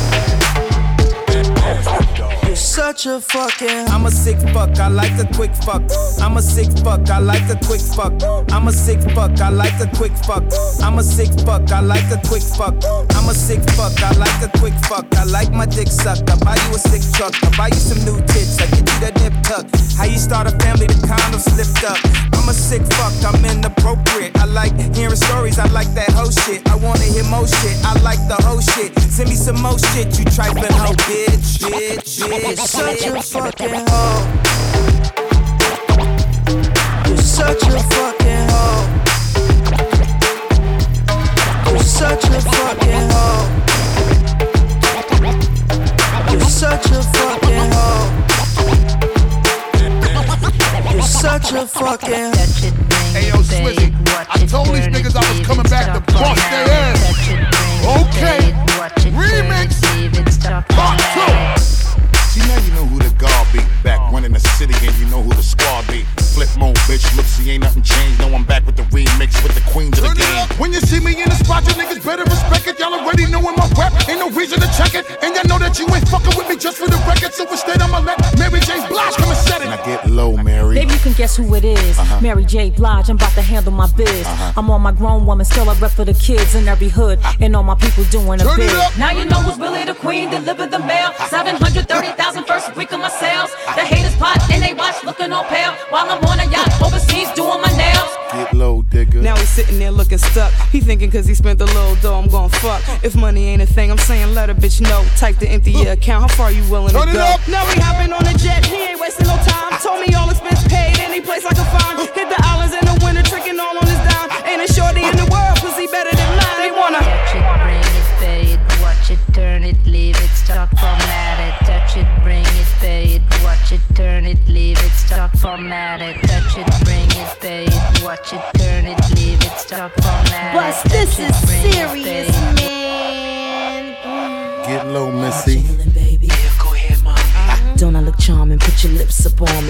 You're such a fucking. I'm a sick fuck, I like a quick fuck. I'm a sick fuck, I like a quick fuck. I'm a sick fuck, I like a quick fuck. I'm a sick fuck, I like a quick fuck. I'm a sick fuck, I like a quick fuck. I like my dick sucked. I buy you a sick truck. I buy you some new tits. I get you that nip tuck. How you start a family? The condom slipped up. I'm a sick fuck, I'm inappropriate. I like hearing stories, I like that whole shit. I wanna hear more shit, I like the whole shit. Send me some more shit, you trifling hoe, bitch, bitch, bitch. You're such a fucking hoe. You're such a fucking hoe. You're such a fucking hoe. You're such a fucking hoe. You're such a fucking. Hey yo, Swizzy, I told these niggas I was coming back to bust their ass. Okay, remix, part 2. See, now you know who the guard be. Back when in the city and you know who the squad be. Flip mode, bitch, look, see, ain't nothing changed. No, I'm back with the remix with the queens of the game. When you see me in the spot, you niggas better respect it. Y'all already knowin' my rep, ain't no reason to check it. And y'all know that you ain't fucking with me just for the record. So instead, I'ma let Mary J. Blige come and set it. Now get low, Mary. Baby, you can guess who it is. Mary J. Blige, I'm about to handle my biz. I'm on my grown woman, still I rep for the kids in every hood. And all my people doing a bid. Now you know who's really the queen, deliver the mail. 730,000 first week of my sales. The haters pot and they watch looking all pale. While I'm on a yacht overseas doing my nails. Get low, digger. Now he's sitting there looking stuck. He thinking cause he spent a little dough, I'm gon' fuck. If money ain't a thing, I'm saying let a bitch know. Type to empty your account, how far you willing to go? Now he hopping on a jet, he ain't wasting no time. Told me all expense paid, any place I can find. Hit the islands in the winter, tricking all on his dime. Ain't a shorty in the world, pussy better than mine. They wanna touch it, bring it, pay it, watch it, turn it, leave it, stop, format it. Touch it, bring it, pay it, watch it, turn it, leave it, stop, format it. Touch it, bring it, pay it, watch it, turn it, leave it, stop, format it. But this is serious, man. Get low, Missy. Don't I look charming? Put your lips up on me.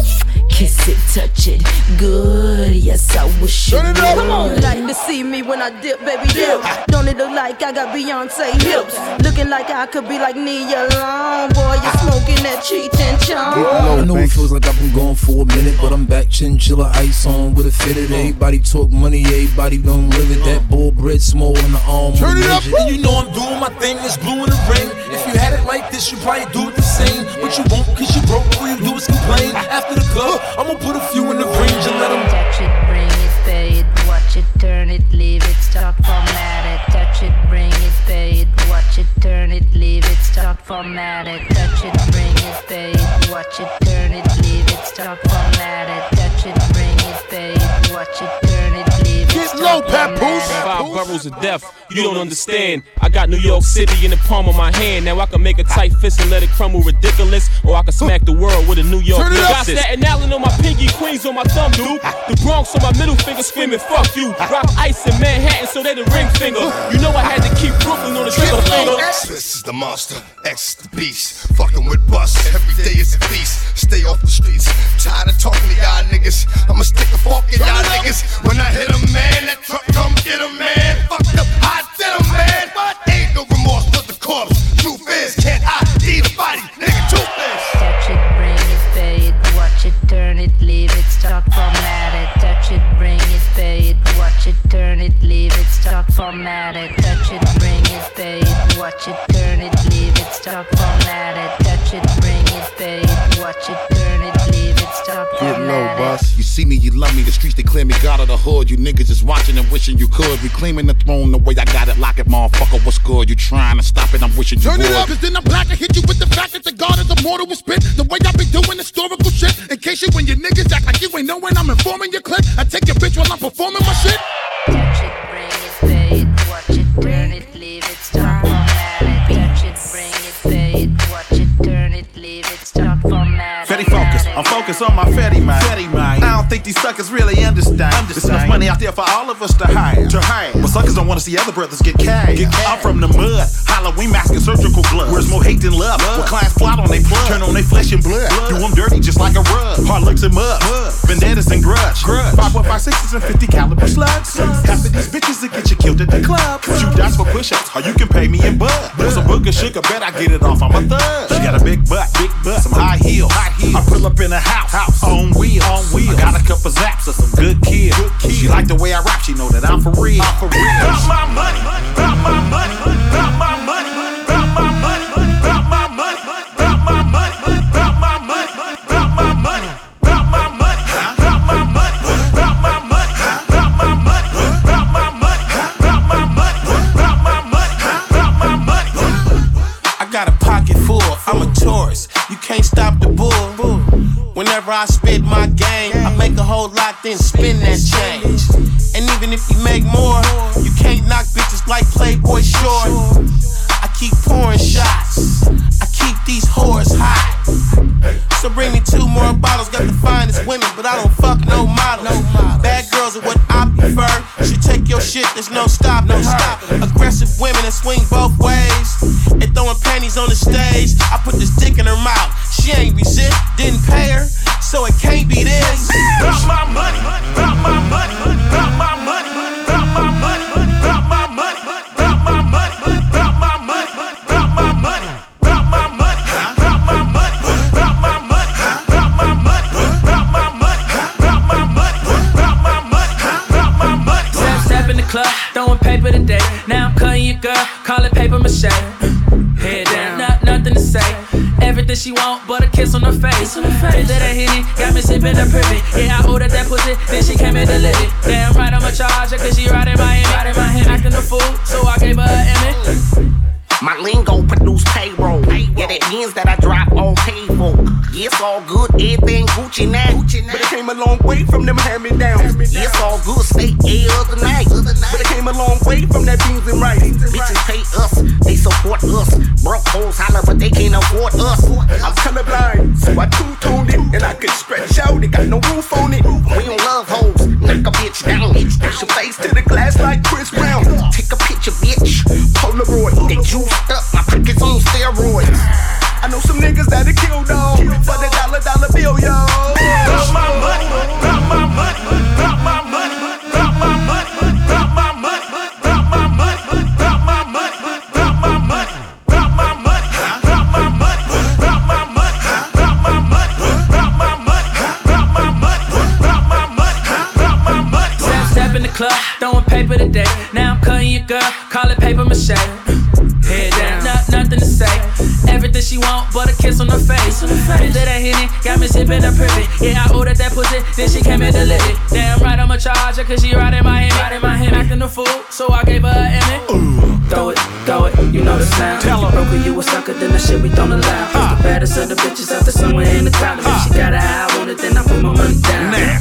Kiss it, touch it, good. Yes, I wish you would. Come on, like to see me when I dip, baby, dip. Don't it look like I got Beyonce hips? Looking like I could be like Nia Long. Boy, you smoking that cheat and chum. I know it feels like I've been gone for a minute, but I'm back, chinchilla ice on with a fitted. Everybody talk money, everybody don't live it. That bull bread small in the arm. Turn it up, and you know I'm doing my thing. It's blue in the ring. If you had it like this, you probably do it the same. But you won't, cause you broke. All you do is complain. After the club, I'ma put a few in the range and let them touch it, bring it, pay it, watch it, turn it, leave it, stop, format it. Touch it, bring it, pay it, watch it, turn it, leave it, stop, format it. Touch it, bring it, pay it, watch it, turn it, leave it, stop, format it. Touch it, bring it, pay it, watch it, turn it, leave it, Get low, Papoose. 5 boroughs of death, you don't understand. I got New York City in the palm of my hand. Now I can make a tight fist and let it crumble ridiculous, or I can smack the world with a New York Turn it up. Got Staten Island on my pinky, Queens on my thumb, dude. The Bronx on my middle finger screaming, fuck you. Rock ice in Manhattan, so they the ring finger. You know I had to keep Brooklyn on the trigger finger. This is the monster, X is the beast. Fucking with bust, every day is a feast. Stay off the streets, tired of talking to y'all niggas. I'ma stick a fork in y'all niggas. When I hit a man, that truck come get a man. Fucked up hot denim man. Ain't no remorse for the corpse. Truth is, can't ID the body, nigga. Truth is. Touch it, bring it, pay it, watch it, turn it, leave it, stop, format it. Touch it, bring it, pay it, watch it, turn it, leave it, stop, format it. Touch it, bring it, pay it, watch it, turn it, leave it, stop, format it. Touch it, bring it, pay it, watch it, turn it, leave it, stop, Get low, format it. boss. You see me, you love me. The streets declare me God of the hood. You niggas is watching and wishing you could. Reclaiming the throne the way I got it. Lock it, motherfucker. What's good? You trying to stop it? I'm wishing you would. Turn it up, cause then I'm black and hit you with the fact that the God is immortal will spit. The way I be doing historical shit. In case you when your niggas act like you ain't knowing I'm informing your clique. I take your bitch while I'm performing my shit. Touch it, bring it, pay it, watch it, turn it, leave it, stop, format it. Touch it, bring it, pay it, watch it, turn it, leave it, stop, format it. Fetty Focus. I'm focused on my Fetty mind. I don't think these suckers really understand. There's enough money out there for all of us to hire. But suckers don't want to see other brothers get cash. I'm from the mud, Halloween mask and surgical gloves. Where's more hate than love? Where clients plot on they plug, turn on they flesh and blood. Do them dirty just like a rug. Hard looks and mud, vendettas and grudge. 5.56s and 50 caliber slugs. Half of these bitches that get you killed at the club. Shoot dots for push-ups, or you can pay me in bud. Want some booger sugar, bet I get it off. I'm a thug. She got a big butt, some high heels. I pull up in a house, on wheels. I got a couple zaps of some good kills. She like the way I rap, she know that I'm for real. Drop my money, drop my money, drop my money, drop my money, drop my money, drop my money, drop my money, drop my money, drop my money, drop my money, drop my money, drop my money, drop my money, drop my money, drop my money, drop my money. I got a pocket full, I'm a tourist. You can't stop the bull. Whenever I spit my game, I make a whole lot, then spin that change. And even if you make more, you can't knock bitches like Playboy Short. I keep pouring shots, I keep these whores hot. So bring me 2 more bottles, got the finest women, but I don't fuck no models. Bad girls are what I prefer. She take your shit, there's no stopping her. Aggressive women that swing both ways, and throwing panties on the stage. I put this dick in her mouth, she ain't resist, didn't pay her, so it can't be this. Drop my money, drop my money, drop my money, drop my money, drop my money, drop my money, drop my money, drop my money, drop my money, drop my money, drop my money, drop my money, drop my money, drop my money, drop my money, drop my money. Step in the club, throwing paper today. Now I'm cutting your girl, call it paper mache. Head down, nothing to say. Everything she want, but a kiss on her face. Into that Henny, got me sipping the privy. Yeah, I ordered that pussy, then she came in to live it. Damn right, I'ma charge her, cause she riding my Miami. Acting a fool, so I gave her an Emmy. My lingo produce payroll. Yeah, that means that I drop on payroll. Yeah, it's all good, everything Gucci now. But it came a long way from them hand-me-downs. Yeah, it's all good, stay other night. But it came a long way from that beans and rice. Bitches pay us, they support us. Broke hoes holler, but they can't afford us. I'm colorblind, so I two-toned it. And I can stretch out, it got no roof on it. We don't love hoes, knock a bitch down. Push your face to the glass like Chris Brown. Take a picture, bitch, Polaroid. They juiced up, my pockets on steroids. I know some niggas that'll kill dog for the dollar bill, yo. Drop my money, drop my money, drop my money, drop my money, drop my money, drop my money, drop my money, drop my money, drop my money, drop my money, drop my money, drop my money, drop my money, drop my money, drop my money, drop my money. Step in the club, throwing paper today. Now I'm cutting your girl, call it paper mache. Head down, nothing to say. Everything she want, but a kiss on her face. Into that Henny, got me sipping the privy. Yeah, I ordered that pussy, then she came in to live it. Damn right, I'ma charge her, cause she riding my Miami. Acting a fool, so I gave her an Emmy. Throw it, you know the sound. Tell her, broke you a sucker, then the shit we don't allow. Cause the baddest of the bitches out there somewhere in the crowd. And if she got an eye on it, then I put my money down. Down,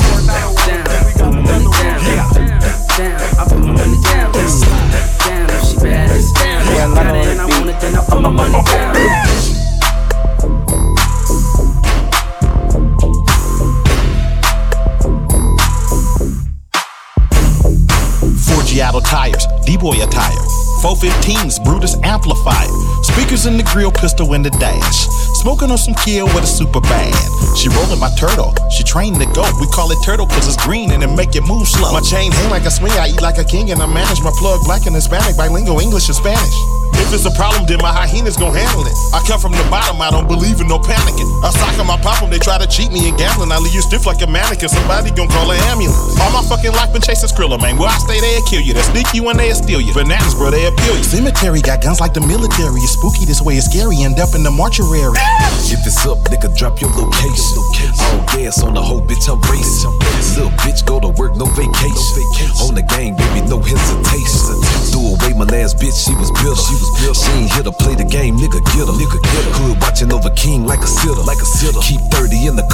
put my money down. Down, I put my money down. Down, if she bad, it's down. If I got it and I want it, then I put my money down. Forgiato tires, D-boy attire, 415s, Brutus amplifier, speakers in the grill, pistol in the dash, smoking on some kill with a super bad. She rolling my turtle, she trained to go. We call it turtle cause it's green and it make it move slow. My chain hang like a swing, I eat like a king and I manage my plug black and Hispanic, bilingual English and Spanish. If it's a problem, then my hyenas gon' handle it. I come from the bottom, I don't believe in no panicking. I sock 'em, I pop 'em, they try to cheat me in gambling. I leave you stiff like a mannequin, somebody gon' call an ambulance. All my fucking life been chasing Skrilla, man. Where I stay, they'll kill you. They'll sneak you and they'll steal you. Bananas, bro, they'll peel you. Cemetery got guns like the military. It's spooky this way, it's scary. End up in the mortuary. If it's up, nigga, drop your location. All gas on the whole bitch, I'm racing. Little bitch, go to work, no vacation. On the game, baby, no hesitation. Threw away my last bitch, she was bitter. She ain't here to play the game, nigga, get her. Hood watching over king like a sitter. Keep 30 in the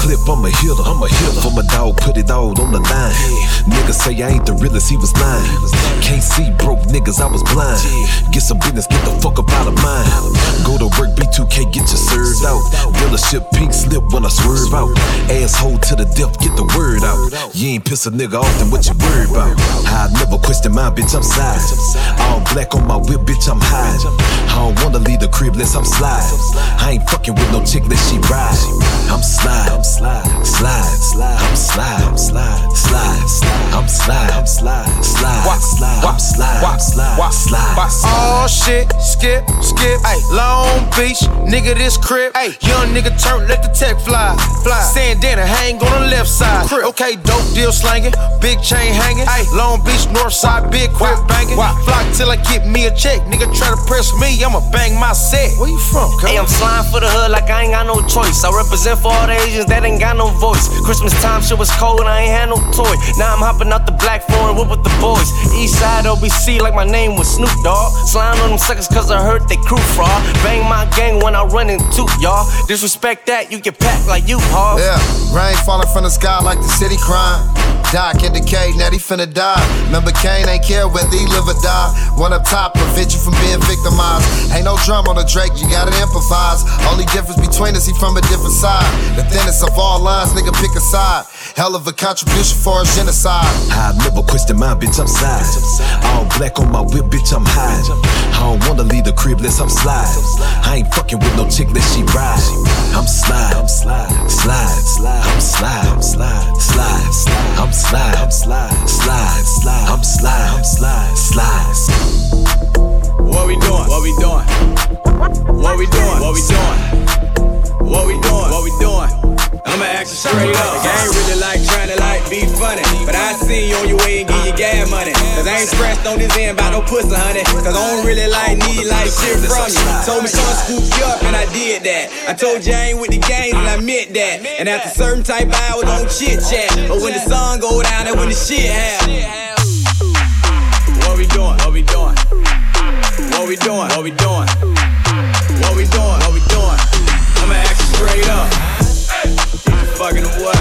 clip, I'm a hitter. For my dog, put it all on the line. Niggas say I ain't the realest, he was lying. Can't see broke niggas, I was blind. Get some business, get the fuck up out of mine. Go to work, B2K, get you served out. Dealership pink slip when I swerve out. Asshole to the death, get the word out. You ain't piss a nigga off, then what you worried about? I never question my bitch, I'm side. All black on my whip, bitch, I'm hide. I don't wanna leave the crib unless I'm slide. I ain't fucking with no chick unless she ride. I'm slide, I'm slide, slide, slide, I'm slide, I'm slide, slide, slide, I'm slide, I'm slide, slide, slide, I'm slide, I'm slide, slide. Oh shit, skip, ayy, Long Beach, nigga this crib, ayy, young nigga turn, let the tech fly, Sandana hang on the left side, okay, dope deal slanging, big chain hanging, ayy, Long Beach, north side, big crib banging, flock till I get me a check, nigga try to press me, I'ma bang my set. Where you from, cuz? Hey, I'm sliding for the hood like I ain't got no choice. I represent for all the Asians that ain't got no voice. Christmas time shit was cold and I ain't had no toy. Now I'm hopping out the black foreign whip with the boys. East side OBC like my name was Snoop Dogg. Sliding on them suckers cause I heard they crew fraud. Bang my gang when I run into y'all. Disrespect that, you get packed like you hard. Yeah, rain falling from the sky like the city crime. Doc in decay, now he finna die. Remember Kane ain't care whether he live or die. One up top, prevent you from being victimized. Ain't no drum on the Drake, you gotta improvise. Only difference between us, he from a different side. The thinnest of all lines, nigga pick a side. Hell of a contribution for a genocide. I never question my bitch, I'm side. All black on my whip, bitch, I'm hide. I don't wanna leave the crib unless I'm slide. I ain't fucking with no chick unless she ride. I'm slide, I'm slide, slide, slide, I'm slide, I'm slide, slide, slide, I'm slide, I'm slide, slide, slide, I'm slide, I'm slide, slide. What we doing? What we doing? What we doing? What we doing? What we doing? What we doing? I'ma ask you straight up. I ain't really like trying to like be funny, but I see you on your way and give you gas money. Cause I ain't scratched on this end about no pussy, honey. Cause I don't really like need like shit from you. Told me someone scoop you up and I did that. I told you I ain't with the gang and I meant that. And after certain type of hours don't chit chat. But when the sun go down and when the shit happen. What we doing? What we doing? What we doing? What we doing? What we doing? What we doing? I'ma ask you straight up. Fucking or what?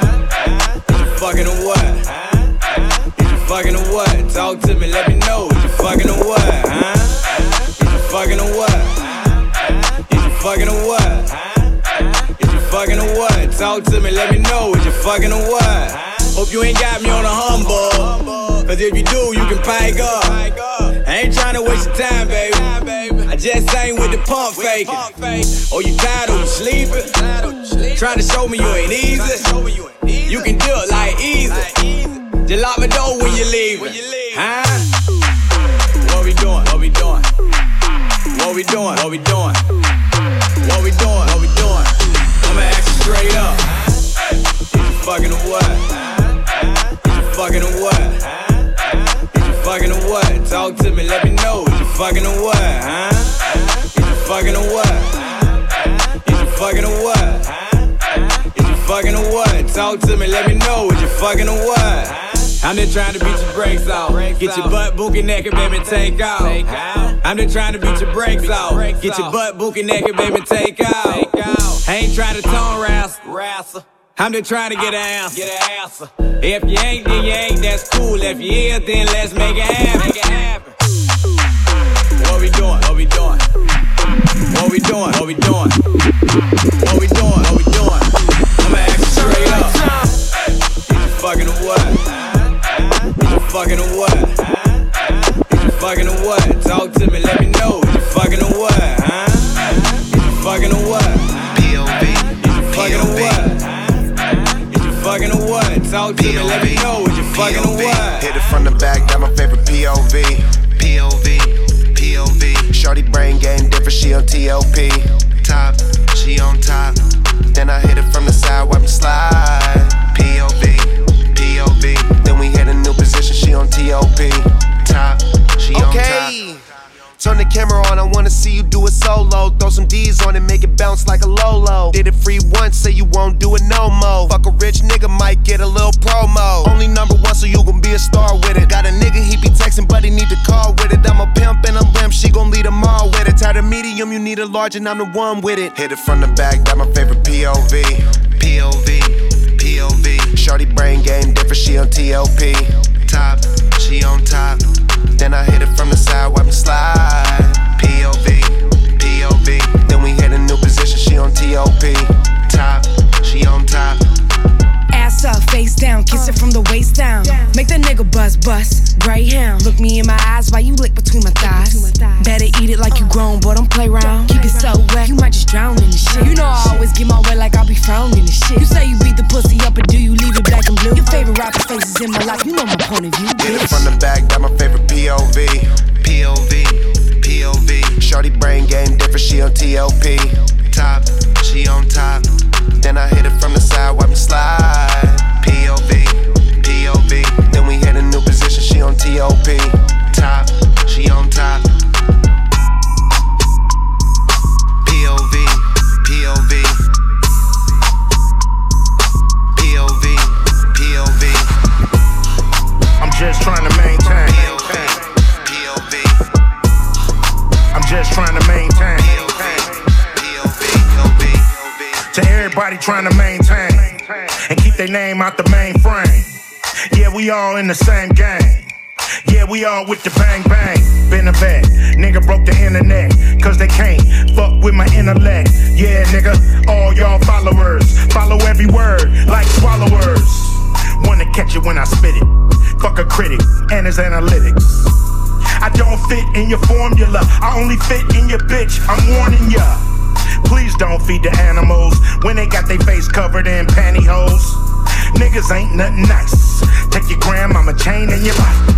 Is you fucking or what? Is you fucking or what? Talk to me, let me know. Is you fucking or what? Huh? Is you fucking or what? Is you fucking or what? Is you fucking or what? Talk to me, let me know. Is you fucking or what? Hope you ain't got me on a humble. Cause if you do, you can pipe up. I ain't tryna waste your time, baby. I just ain't with the pump faking. Oh, you tired or you sleeping? Trying to show me you ain't easy. You can do it like easy. Just lock my door when you leaving. Huh? What we doing? What we doing? What we doing? What we doing? What we doing? What we doing? I'ma ask you straight up. Is you fucking or what? Is you fucking or what? Is you fucking or what? Talk to me, let me know. Is you fucking or what? Huh? Is you fucking or what? Is you fucking or what? Is you fucking or what? Talk to me, let me know. Is you fucking or what? I'm just trying to beat your brakes off. Get your butt bookie naked, baby, take off. I'm just trying to beat your brakes off. Get your butt bookie naked, baby, take off. I ain't trying to tone wrestle. I'm just trying to get an answer. If you ain't, then you ain't, that's cool. If you is, then let's make it happen. What we doing? What we doing? What we doing? What we doing? What we doing? What we doing? I'ma ask you straight up. Is you fucking or what? Is you fucking or what? Is you fucking or what? Talk to me, let me know. Is you fucking or what? Huh? Is you fucking or what? P.O.B. Is you fucking or what? Is you fucking or what? Talk to me, let me know. Is you fucking or what? Hit it from the back, that my favorite POV. POV. Shorty brain game different, she on TLP. Top, she on top. Then I hit it from the side, wipe me slide. POV. Then we hit a new position, she on TOP. Top, she on top. Turn the camera on, I wanna see you do it solo. Throw some D's on it, make it bounce like a Lolo. Did it free once, say you won't do it no more. Fuck a rich nigga, might get a little promo. Only #1, so you gon' be a star with it. Got a nigga, he be texting, but he need to call with it. I'm a pimp and a limp, she gon' lead them all with it. Tired of medium, you need a large and I'm the one with it. Hit it from the back, that my favorite POV. the waist down. Make the nigga bust. Greyhound. Look me in my eyes while you lick between my thighs. Better eat it like you grown, boy, don't play round. Keep it so wet, you might just drown in the shit. You know I always get my way like I'll be found in the shit. You say you beat the pussy up, or do you leave it black and blue? Your favorite rapper faces in my life, you know my point of view. Get it from the back, that my favorite POV. Shorty brain game different, she on TLP. Top, she on top. Then I hit it from the side, watch me slide. POV. Then we hit a new position, she on TOP. Top, she on top. POV. I'm just trying to maintain. I'm just trying to maintain. To everybody trying to maintain and keep their name out the mainframe. Yeah, we all in the same game. Yeah, we all with the bang bang. Been a vet, nigga broke the internet, cause they can't fuck with my intellect. Yeah, nigga, all y'all followers, follow every word like swallowers. Wanna catch it when I spit it. Fuck a critic and his analytics. I don't fit in your formula, I only fit in your bitch, I'm warning ya. Please don't feed the animals when they got their face covered in pantyhose. Niggas ain't nothing nice. Take your grandmama chain in your life.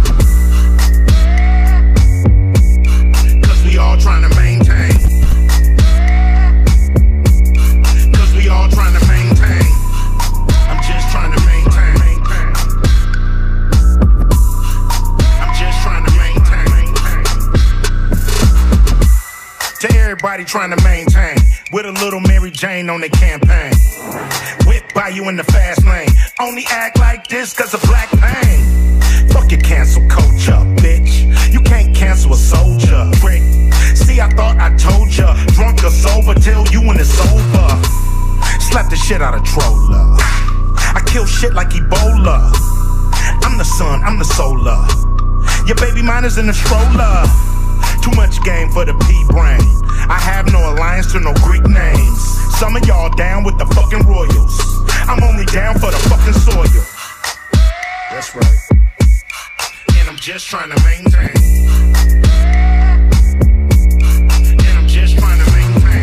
Cause we all trying to maintain. Cause we all trying to maintain. I'm just trying to maintain. I'm just trying to maintain. To everybody trying to maintain, with a little Mary Jane on the campaign. Whip by you in the fast lane. Only act like this cause of black pain. Fuck your cancel culture, bitch. You can't cancel a soldier, prick. See, I thought I told ya. Drunk or sober till you when it's over. Slap the shit out of Troller. I kill shit like Ebola. I'm the sun, I'm the solar. Your baby mine is in the stroller. Too much game for the P-brain. I have no alliance to no Greek names. Some of y'all down with the fucking royals. I'm only down for the fucking soil. That's right. And I'm just trying to maintain. And I'm just trying to maintain.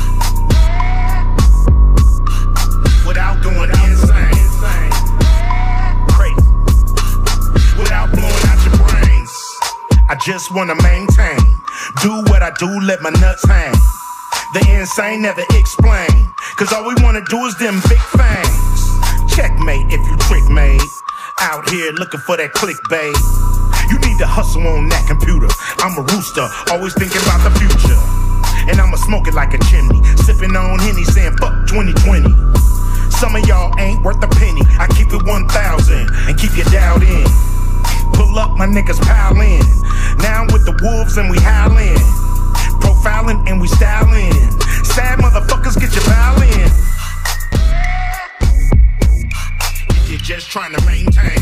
Without going insane. Crazy. Without blowing out your brains. I just wanna maintain. Do what I do, let my nuts hang. The insane never explain. Cause all we wanna do is them big fangs. Checkmate if you trick made. Out here looking for that clickbait. You need to hustle on that computer. I'm a rooster, always thinking about the future. And I'ma smoke it like a chimney. Sipping on Henny saying fuck 2020. Some of y'all ain't worth a penny. I keep it 1,000 and keep your doubt in. Pull up, my niggas pile in. Now I'm with the wolves and we howlin'. Profiling and we styling. Sad motherfuckers, get your foul in. If you're just trying to maintain.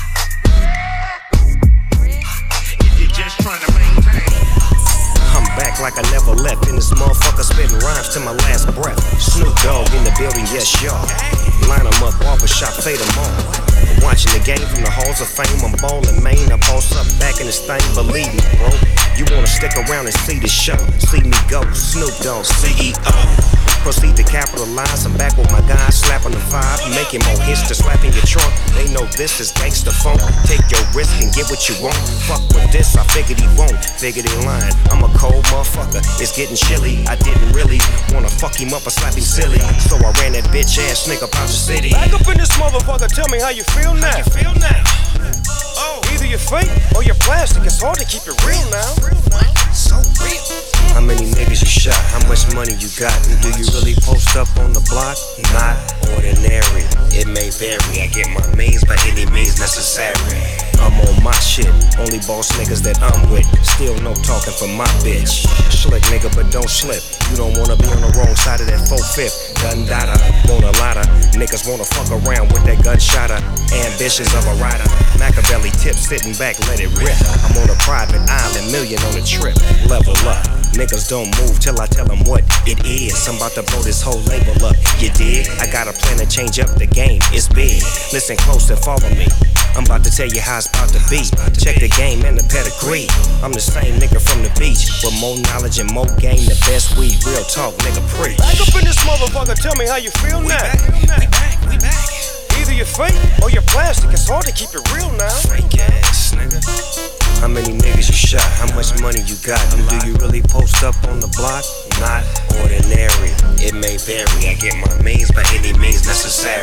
If you're just trying to maintain. I'm back like I never left. In this motherfucker spitting rhymes to my last breath. Snoop Dogg in the building, yes y'all. Line them up, barbershop, fade them all. Watching the game from the halls of fame. I'm ballin' Maine, I boss up back in this thing. Believe me, bro, you wanna stick around and see the show. See me go, Snoop Dogg, CEO. Proceed to capitalize, I'm back with my guys, slapping the vibe, making more hits to slapping your trunk. They know this is gangsta funk. Take your risk and get what you want. Fuck with this, I figured he won't. Figured he lying, I'm a cold motherfucker. It's getting chilly, I didn't really wanna fuck him up or slap him silly. So I ran that bitch ass nigga out the city. Back up in this motherfucker, tell me how you feel now. Oh, either you're fake or you're plastic. It's hard to keep it real now. So real. How many niggas you shot? How much money you got? And do you really post up on the block? Not ordinary. It may vary. I get my means by any means necessary. I'm on my shit. Only boss niggas that I'm with. Still no talking for my bitch. Slick nigga, but don't slip. You don't wanna be on the wrong side of that 4-5. Gun data, want a lotta. Niggas wanna fuck around with that gunshotter. Ambitions of a rider. Machiavelli tip, sitting back, let it rip. I'm on a private island, million on a trip. Level up. Niggas don't move till I tell them what it is. I'm about to blow this whole label up, you dig? I got a plan to change up the game, it's big. Listen close and follow me. I'm about to tell you how it's about to be. Check the game and the pedigree. I'm the same nigga from the beach with more knowledge and more game, the best weed. Real talk, nigga, preach. Back up in this motherfucker, tell me how you feel now. We back. Either you're fake or you're plastic. It's hard to keep it real now. Fake ass nigga. How many niggas you shot? How much money you got? And do you really post up on the block? Not ordinary. It may vary. I get my means by any means necessary.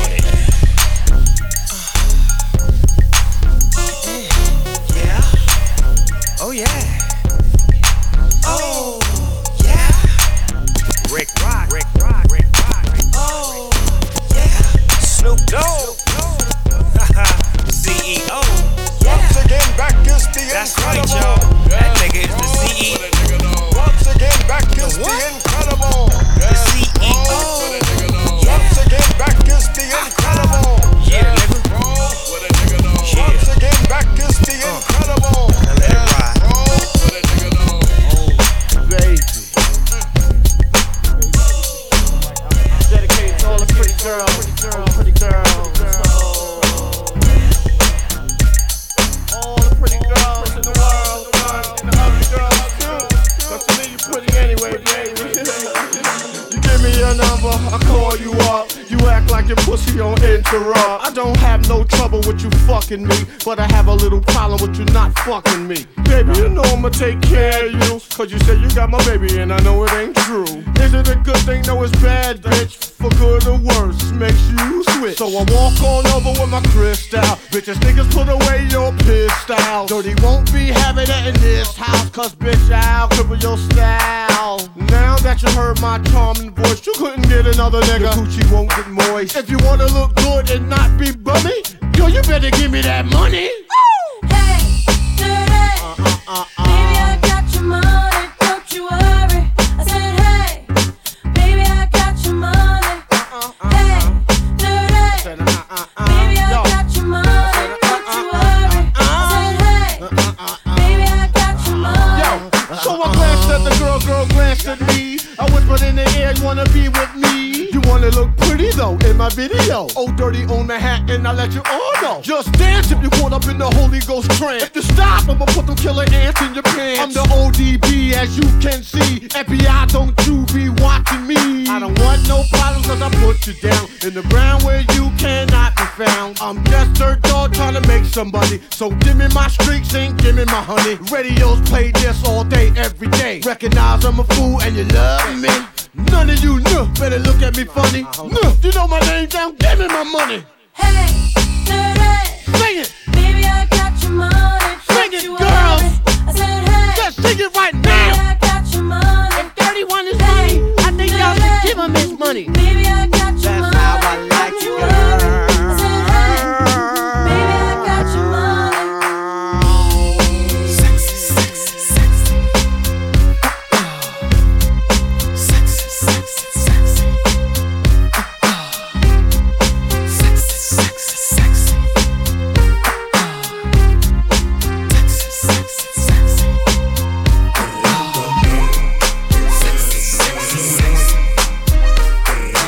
Yeah. Oh yeah. Oh yeah. Rick Rock. Oh yeah. Snoop Dogg. CEO. Once again, back is the That's incredible. right, y'all. That nigga is the CEO. Once again, back is the incredible. The CEO. Once again, back is the incredible. Yeah, nigga. Once again, back is the incredible. Now let it ride. Baby. Dedicated to all the pretty girls. All the pretty girls in the world, and the ugly girls too. But to me, you pretty anyway, baby. You give me your number, I call you up. You act like your pussy on interrupt. I don't have no trouble with you fucking me, but I have a little problem with you not fucking me. Baby, you know I'ma take care of you, cause you say you got my baby and I know it ain't true. Is it a good thing? No, it's bad, bitch. For good or worse, makes you switch. So I walk on over with my crystal. Bitches, niggas, put away your pistol. Dirty won't be having it in this house, cause bitch, I'll cripple your style. Now that you heard my charming voice, you couldn't get another nigga. Your coochie won't get moist. If you wanna look good and not be bummy, yo, you better give me that money. Hey, dirty. Baby, I got your money, don't you worry. I said, hey, baby, I got your money. Hey, dirty. Baby, I got your money, don't you worry. I said, hey, baby, I got your money. So I glanced at the girl glanced at me. I whispered in the air, you wanna be with me? You wanna look pretty though in my video. Oh, dirty on Manhattan, I let you all know. Just dance if you caught up in the Holy Ghost trance. If you stop, I'ma put them killer ants in your pants. I'm the ODB, as you can see. FBI, don't you be watching me. I don't want no problems, cause I put you down in the ground where you cannot be found. I'm just dirt dog trying to make somebody. So give me my streaks and give me my honey. Radios play this all day, every day. Recognize I'm a fool and you love me. None of you better look at me funny. You know my name down, give me my money. Hey, dirty. Sing it. Baby, I got your money. Sing it, you girls. worry. I said, hey. Just sing it right Baby, now. I got your money. If 31 is money, I think y'all should give him his money. Baby, I got your money. That's how I like don't you, you girl. worry. I said, hey. Baby, I got your money. Sexy, sexy, sexy. Sexy, sexy, sexy. Sexy, sexy, sexy. Sexy, sexy, sexy. Sexy, sexy, sexy.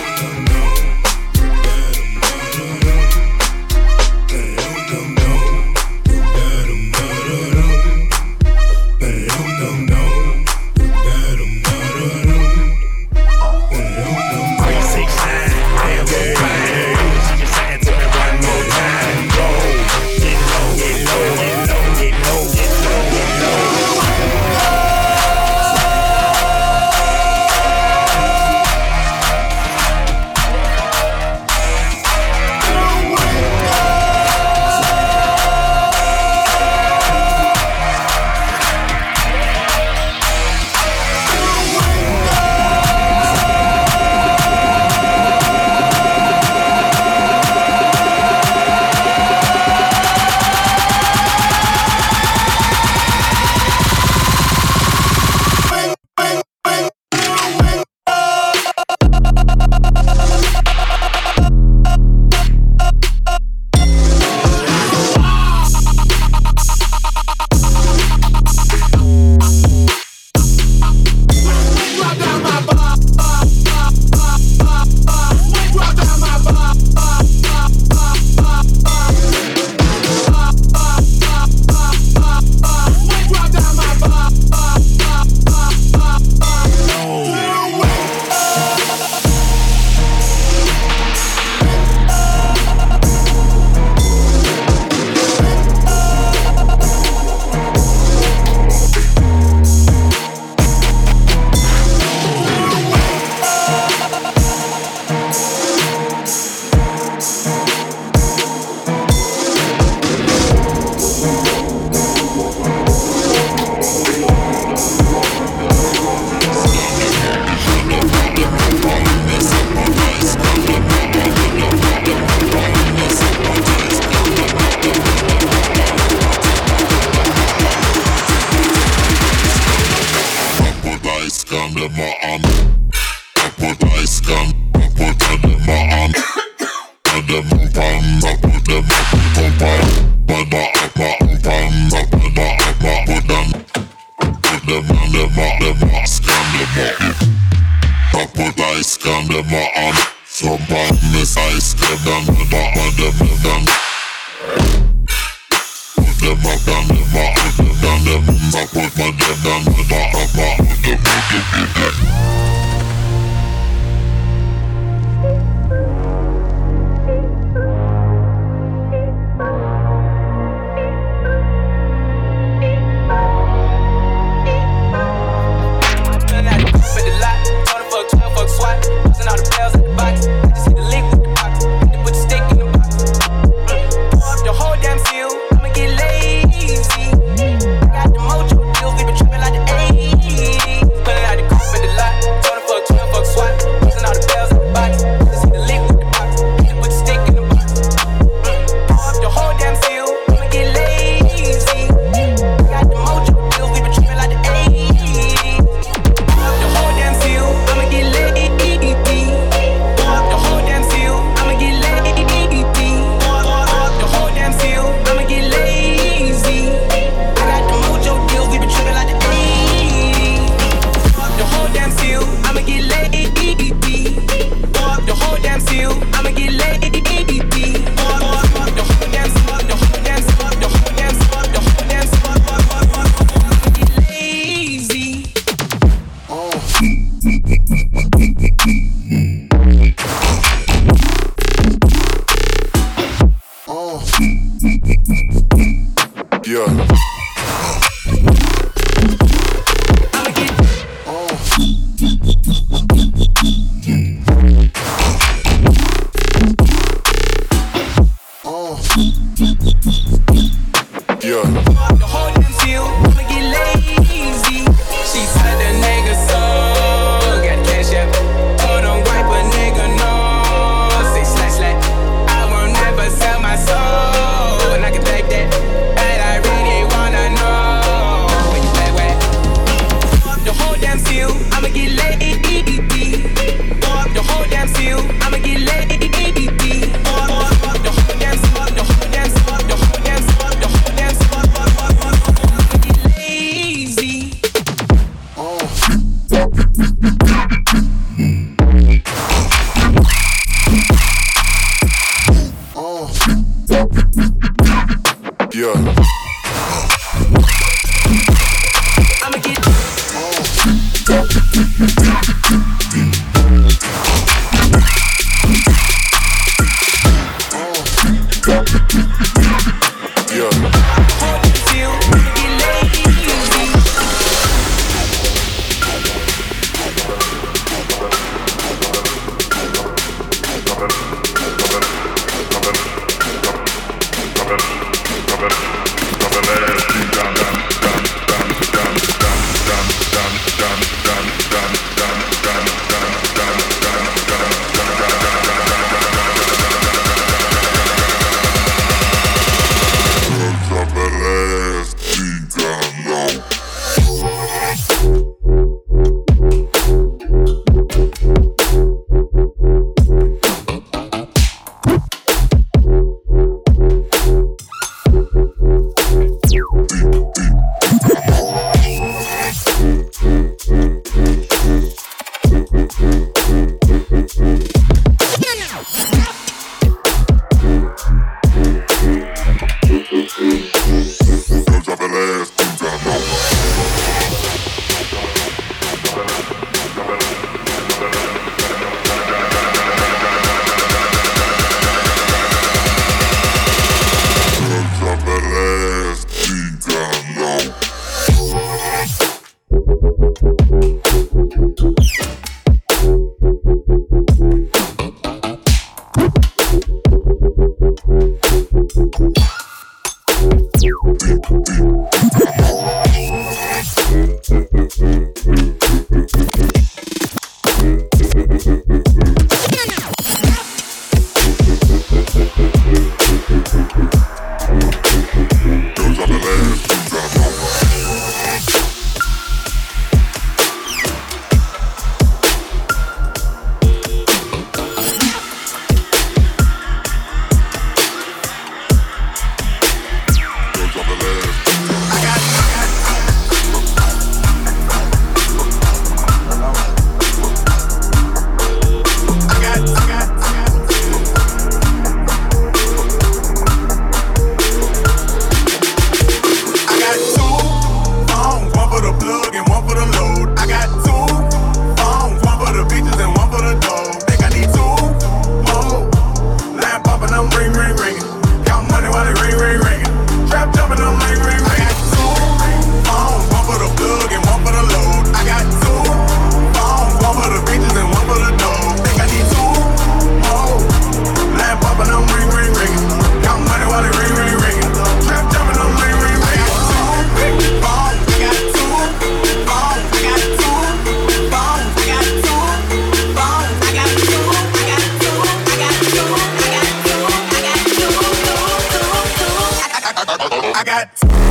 got.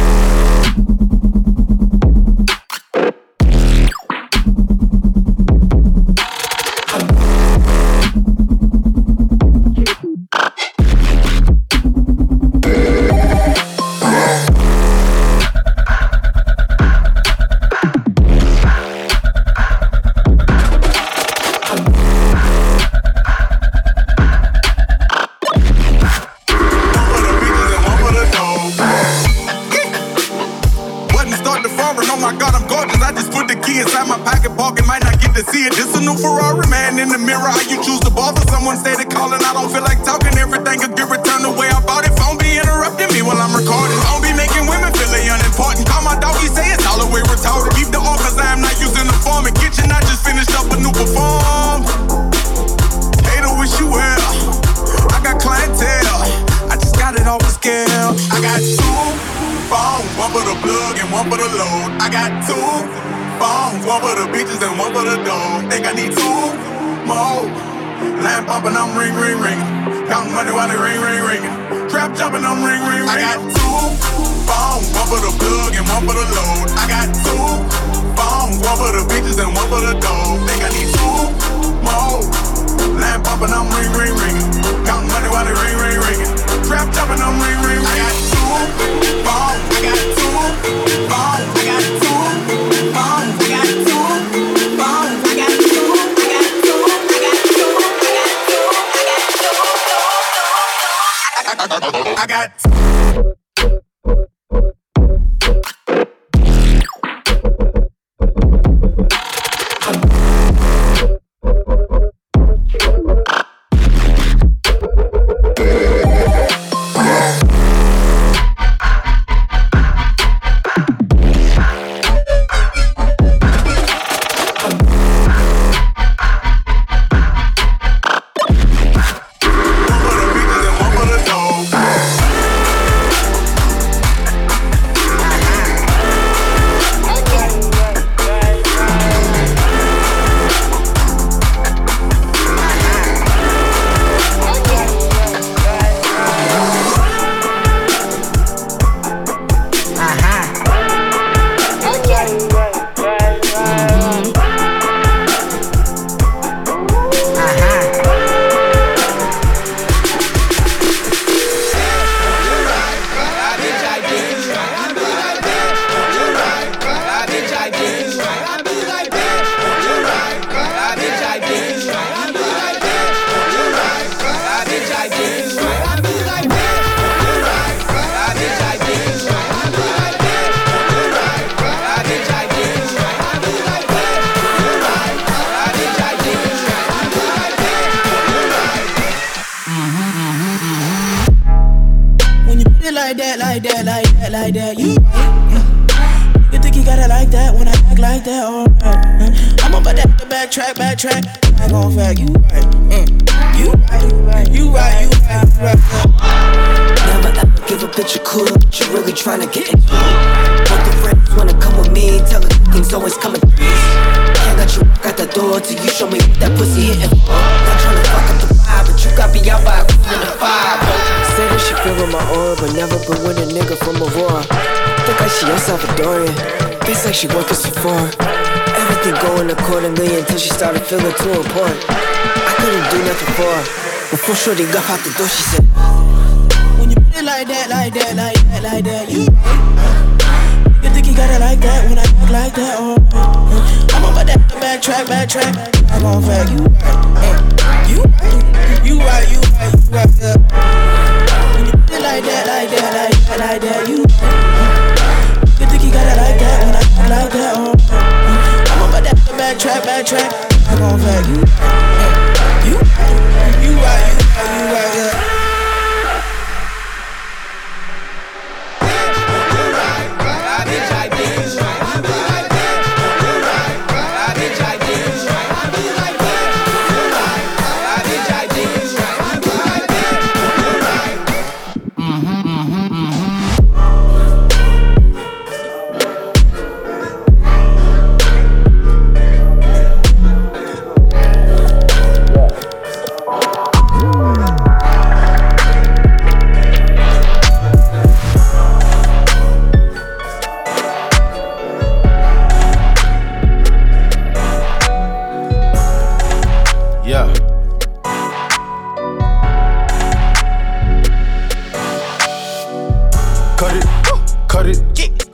like that, you right. You think you got it like that when I act like that, alright. I'm about to backtrack. I gon' fact, you right. You right. Never ever give a bitch a cool, but you really tryna get into it. Both the friends wanna come with me, tell her things always coming threes. Can't let you walk out the door till you show me what that pussy hitting for. Not tryna fuck up the vibe, but you got me out by a in the five. Say that she feel with my aura, but never been with a nigga from Aurora. Think like she El Salvadorian, face like she working Sephora. Everything going accordingly until she started feeling too important. I couldn't do nothing for her. Before Shorty got out the door, she said, when you put it like that, you right. You think you got it like that when I act like that, alright. I'm about to backtrack. I gon' fact, you right. When you put it like that, you think you got it like that when I act like that, alright. I'm about to backtrack. I gon' fact, you right.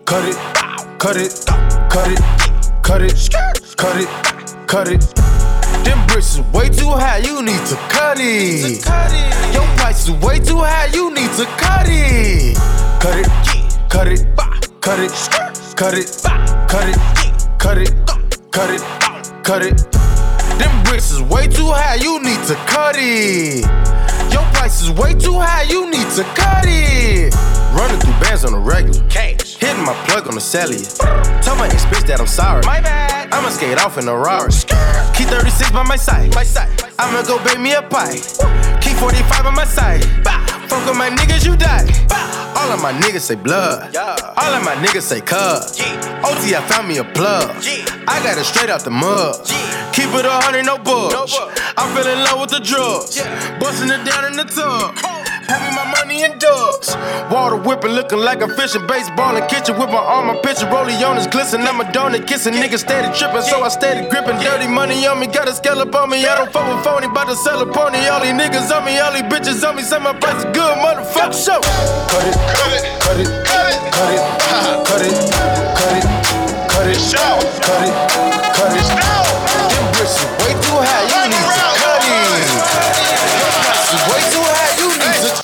cut it, cut it, cut it, cut it, cut it, cut it. Them bricks is way too high, you need to cut it. Your price is way too high, you need to cut it. Cut it, cut it, cut it, cut it, cut it, cut it, cut it, cut it. Them bricks is way too high, you need to cut it. Your price is way too high, you need to cut it. Running through bands on the regular. Cash. Hitting my plug on the cellular. Tell my ex bitch that I'm sorry. My bad. I'ma skate off in a Rari. Keep 36 by my side. I'ma go bake me a pie. Keep 45 on my side. Fuck with my niggas, you die. All of my niggas say blood. All of my niggas say cuz. OT, I found me a plug. I got it straight out the mud. Keep it 100, no bugs. I fell in love with the drugs. Busting it down in the tub. Hand me my money in dubs. Water whipping, looking like a fish in baseball in kitchen with my arm, my picture. Rollie on his glisten. I'm a donut kissing. Niggas steady tripping, so I steady gripping. Dirty money on me, got a scallop on me. I don't fuck with phony, bout to sell a pony. All these niggas on me, all these bitches on me. Say my price is good, motherfucker. Show. Cut it, cut it, cut it, cut it, cut it, cut it, cut it, cut it, cut it, cut it. Them bricks is way too high, you need to cut it. Your price is way too high, you need to.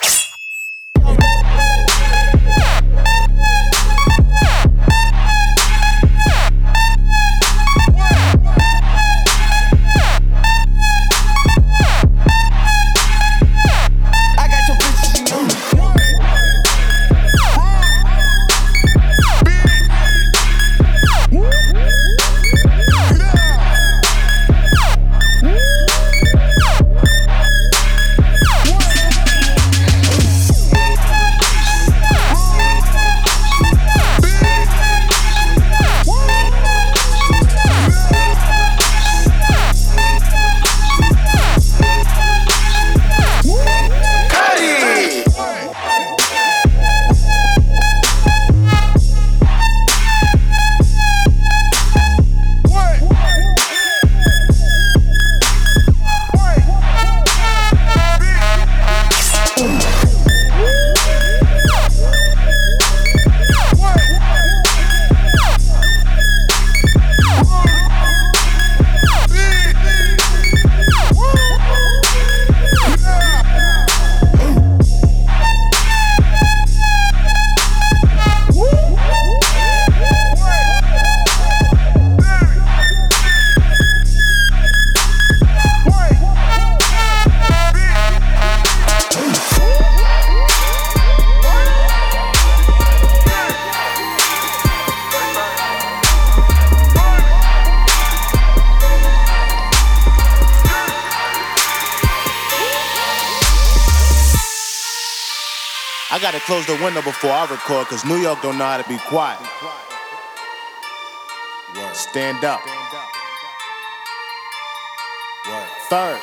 I gotta close the window before I record, cause New York don't know how to be quiet. Stand up. Third.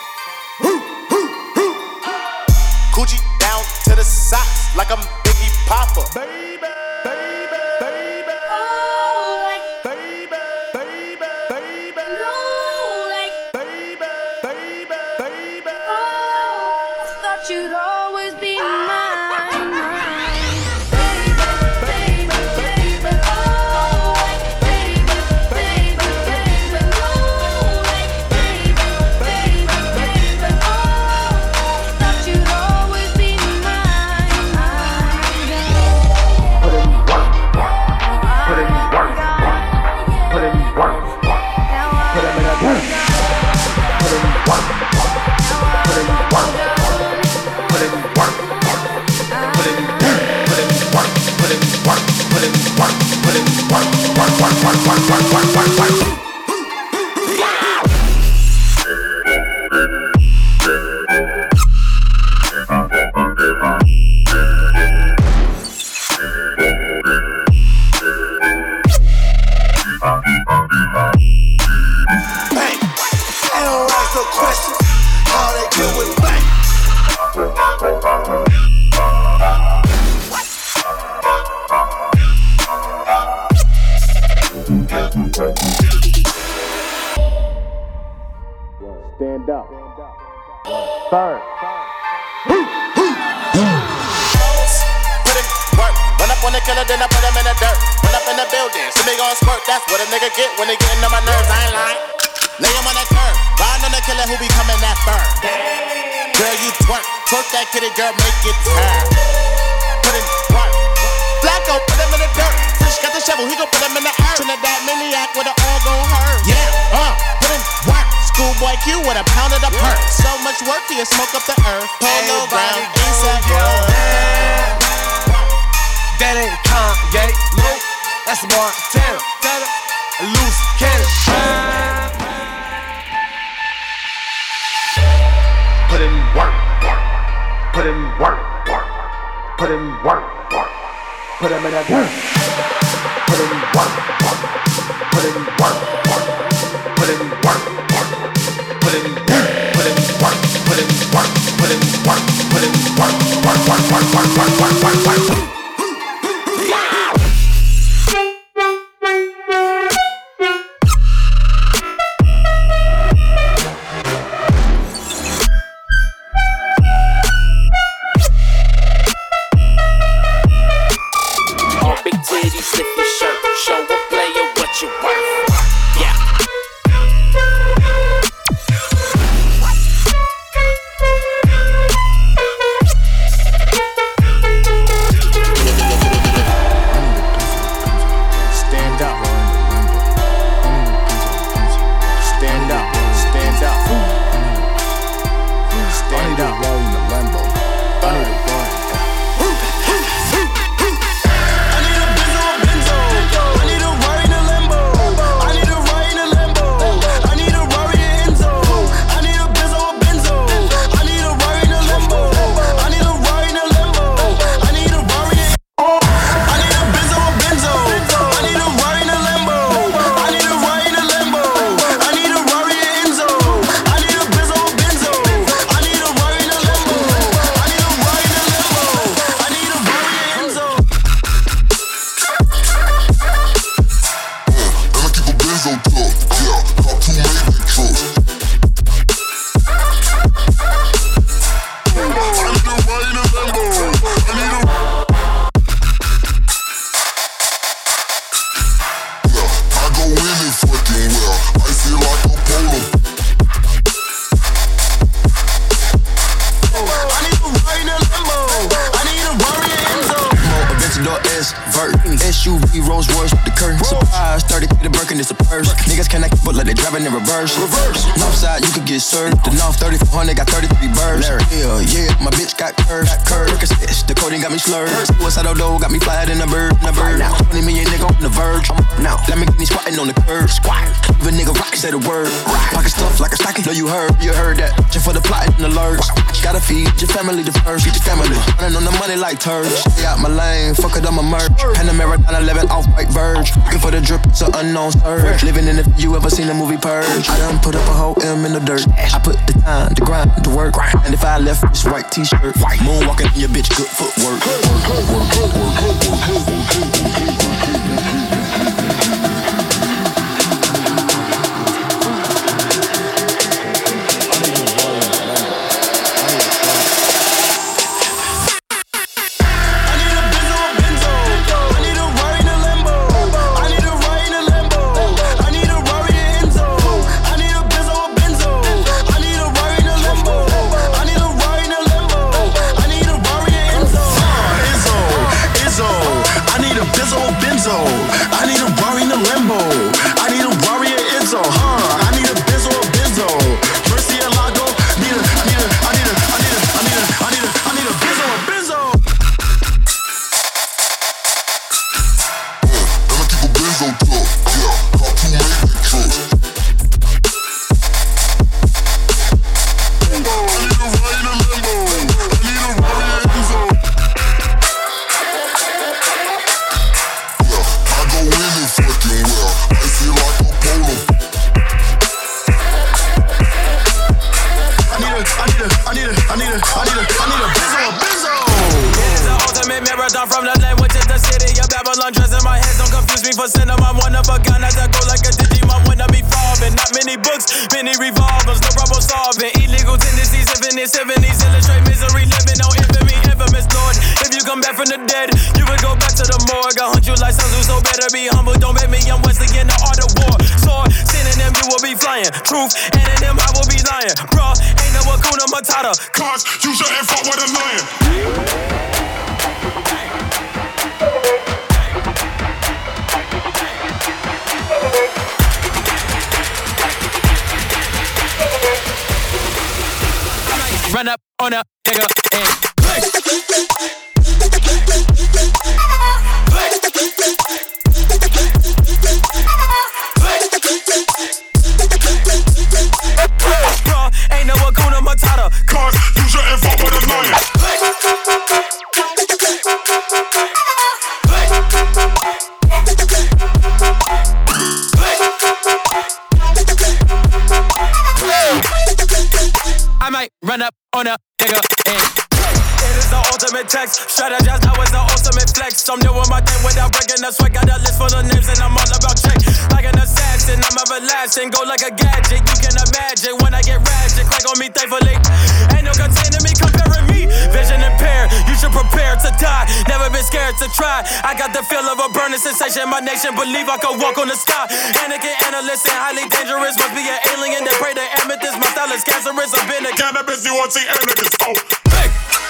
Coochie down to the socks like I'm Biggie Papa. Baby, baby, baby. Oh, like baby, baby, baby. No, like baby, baby, baby. Oh, thought you'd always be mine. Stand up. Third. Put in work, run up wanna kill it, then I put him in the dirt. Run up in the building, see me gon' squirt. That's what a nigga get when they getting on my nerves. I ain't lying. Lay him on the curb, riding on the killer who be coming that firm. Girl, you twerk that kitty, girl, make it turn. Put in work. Flacco, put him in the dirt. Fish got the shovel, he gon' put him in the earth. Trinidad maniac with an all gon' hurt. Yeah, put in work. Schoolboy Q with a pound of the perk. So much work, he'll smoke up the earth. Polo ground, ASAP road. That ain't Kanye, no, that's Montana. Loose cannon. Put in work, put in work, put in work, put him in that dirt. Put in work, put in work, put in work, put in work, put in work, put in work, put in work, put in work. SUV, Rolls Royce with the curtains. Surprise, 30K the Birkin, it's a purse. Niggas connect, but like they driving in reverse. Northside, you could get served. The North 3400 got 33 birds. Yeah, my bitch got curves. The coding got me slurred. Suicidal dough got me flying in a bird. 20 million nigga on the verge. Now, let me get me squatting on the curb. Squat. Leave a nigga rock, say the word. Pocket stuff like a stocking. Know you heard that. Just for the plot and the lurch. Gotta feed your family the first. Feed your family. Running on the money like turds. Stay out my lane, fuck it on my merch. Panamera 911 off-white verge. Looking for the drip, it's an unknown surge. Living in it, you ever seen the movie Purge? I done put up a whole M in the dirt. I put the time, the grind, the work. And if I left this white t-shirt, moonwalking in your bitch, good footwork. Illustrate misery, living on infamy, infamous Lord. If you come back from the dead, you would go back to the lying. Truth, and in them I will be lying. Bruh, ain't no Hakuna Matata. Cause you shouldn't fuck with a lion. Run up on a nigga and play. Bruh, ain't no Hakuna Matata. Cause you shouldn't fuck with a lion. I might run up on a nigga and it is the ultimate text. Strategize, that was the ultimate flex. I'm doing my thing without breaking the sweat. Got a list full of names and I'm all about check. Like an assassin, I'm everlasting. Go like a gadget, you can imagine. When I get ratchet, crack on me thankfully. Ain't no containing me, comparing me. Vision impaired, you should prepare to die. Never been scared to try. I got the feel of a burning sensation. My nation believe I could walk on the sky. Anakin, analyst, and highly dangerous. Must be an alien that pray to amethyst. My style is cancerous. I've been a cannabis, you want to see anarchists. Oh, hey.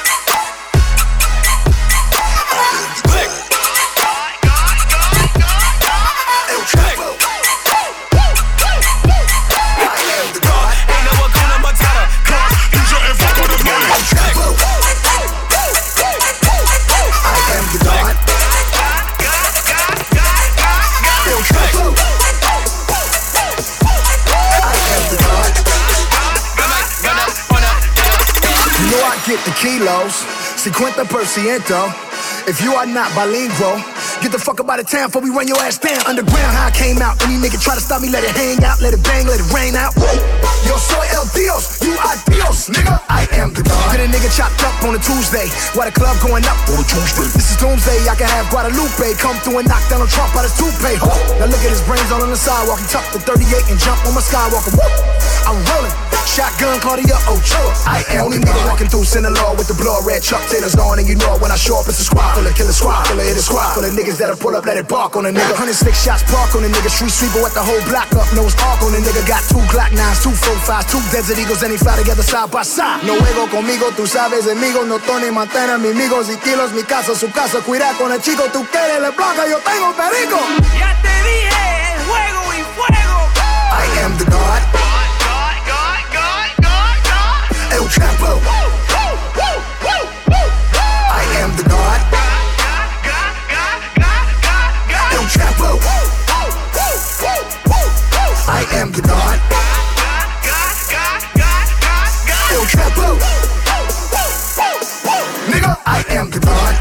Get the kilos, 50%. If you are not bilingual, get the fuck up out of town before we run your ass down. Underground, how I came out. Any nigga try to stop me, let it hang out, let it bang, let it rain out. Yo soy el Dios, you are Dios, nigga. I am the God. Get a nigga chopped up on a Tuesday, while the club going up on a Tuesday. This is doomsday, I can have Guadalupe come through and knock down a Trump out his toupee. Now look at his brains all on the sidewalk. He tucked the 38 and jump on my Skywalker. Whoop. I'm rolling. Shotgun, Claudia Ochoa. I am only nigga walking through Sinaloa with the blood red Chuck Taylors on, and you know when I show up, it's a squad full of killer squad, full of hit a squad, full of niggas that'll pull up, let it bark on a nigga. 106 shots park on a nigga, street sweeper with the whole block up, nose arc on a nigga. Got 2 Glock 9s, 2 45s, 2 Desert Eagles, and they fly together side by side. No juego conmigo, tú sabes, amigos, no Tony Montana, mis amigos y kilos, mi casa, su casa, cuida con el chico, tú quieres le blanca, yo tengo perico. Ya te dije, juego y fuego. I am the God. El Chapo. I am the God. El Chapo. I am the God. El Chapo. Nigga, I am the God.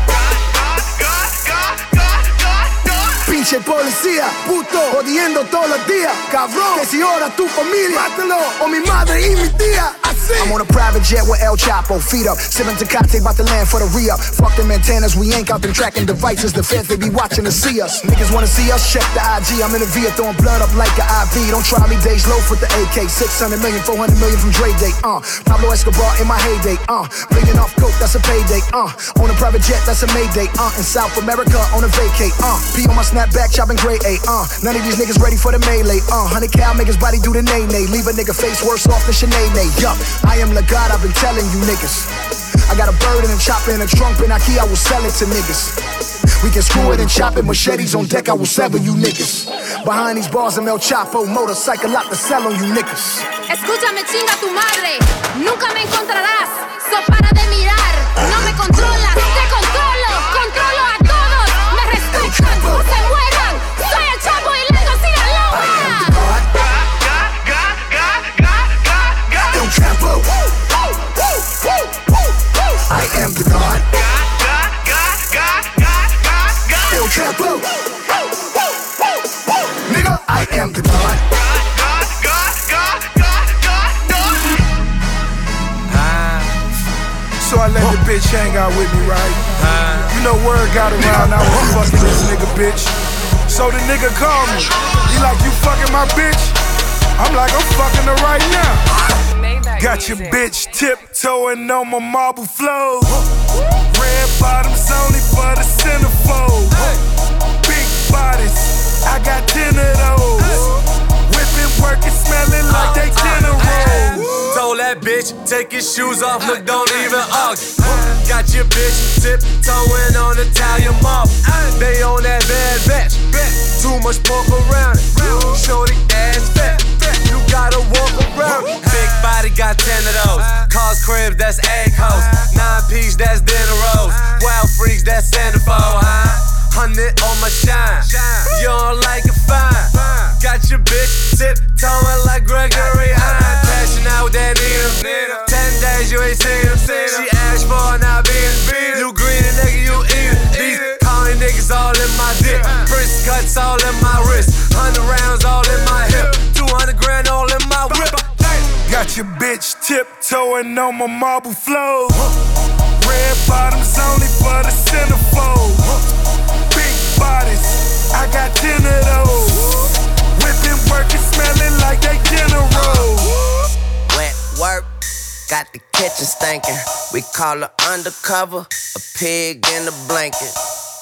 Pinche policía, puto, jodiendo todos los días. Cabrón, que si ora tu familia, mátalo, o mi madre y mi tía. I'm on a private jet with El Chapo, feet up, sipping Tecate, about to land for the re-up. Fuck them antennas, we ain't out them tracking devices. The feds, they be watching to see us. Niggas wanna see us, check the IG. I'm in the VIA, throwing blood up like an IV. Don't try me, days low with the AK. 600 million, 400 million from Dre Day. Pablo Escobar in my heyday. Bleeding off coke, that's a payday. On a private jet, that's a Mayday. In South America, on a vacay. P on my snapback, chopping gray A. None of these niggas ready for the melee. 100 cal, make his body do the nay-nay. Leave a nigga face worse off than Sinead. Yup, I am the God, I've been telling you niggas. I got a bird and a chopper and a trunk, and I will sell it to niggas. We can screw it and chop it, machetes on deck, I will sever you niggas. Behind these bars, I'm El Chapo, motorcycle out to sell on you niggas. Escúchame, chinga tu madre, nunca me encontrarás, so para de mirar, no me controlas, te controlo, controlo a todos, me respetan, o se mueran, soy el Chapo y Lego Sinaloa. El Chapo. I am the God. El Chapo. Nigga, I am the God. So I let the bitch hang out with me, right? You know word got around, I was fucking this nigga, bitch. So the nigga called me. He like, you fucking my bitch? I'm like, I'm fucking her right now. Got your bitch tiptoeing on my marble floor. Red bottoms only for the centerfold. Big bodies, I got 10 of those. Whipping, working, smelling like shoes off, look, don't even argue. Got your bitch tiptoeing on Italian marble. They on that bad batch. Too much pork around it. Shorty ass fat. You gotta walk around it. Big body got 10 of those. Cars, cribs, that's egg hoes. 9-piece, that's dinner rolls. Wild freaks, that's centerfold, huh? 100 on my shine. You don't like it, fine. Got your bitch tiptoeing like Gregory Hine. Cashing out with that Nina. 10 days you ain't seen him. She asked for it, now beat. You greedy nigga, you eat it. These county niggas all in my dick. Wrist cuts all in my wrist. 100 rounds all in my hip. 200 grand all in my whip. Got your bitch tiptoeing on my marble floor. Red bottoms only for the centerfold. Big bodies, I got 10 of those. Whipping, working, smelling like they general. Wet work, got the kitchen stinking. We call her undercover, a pig in a blanket.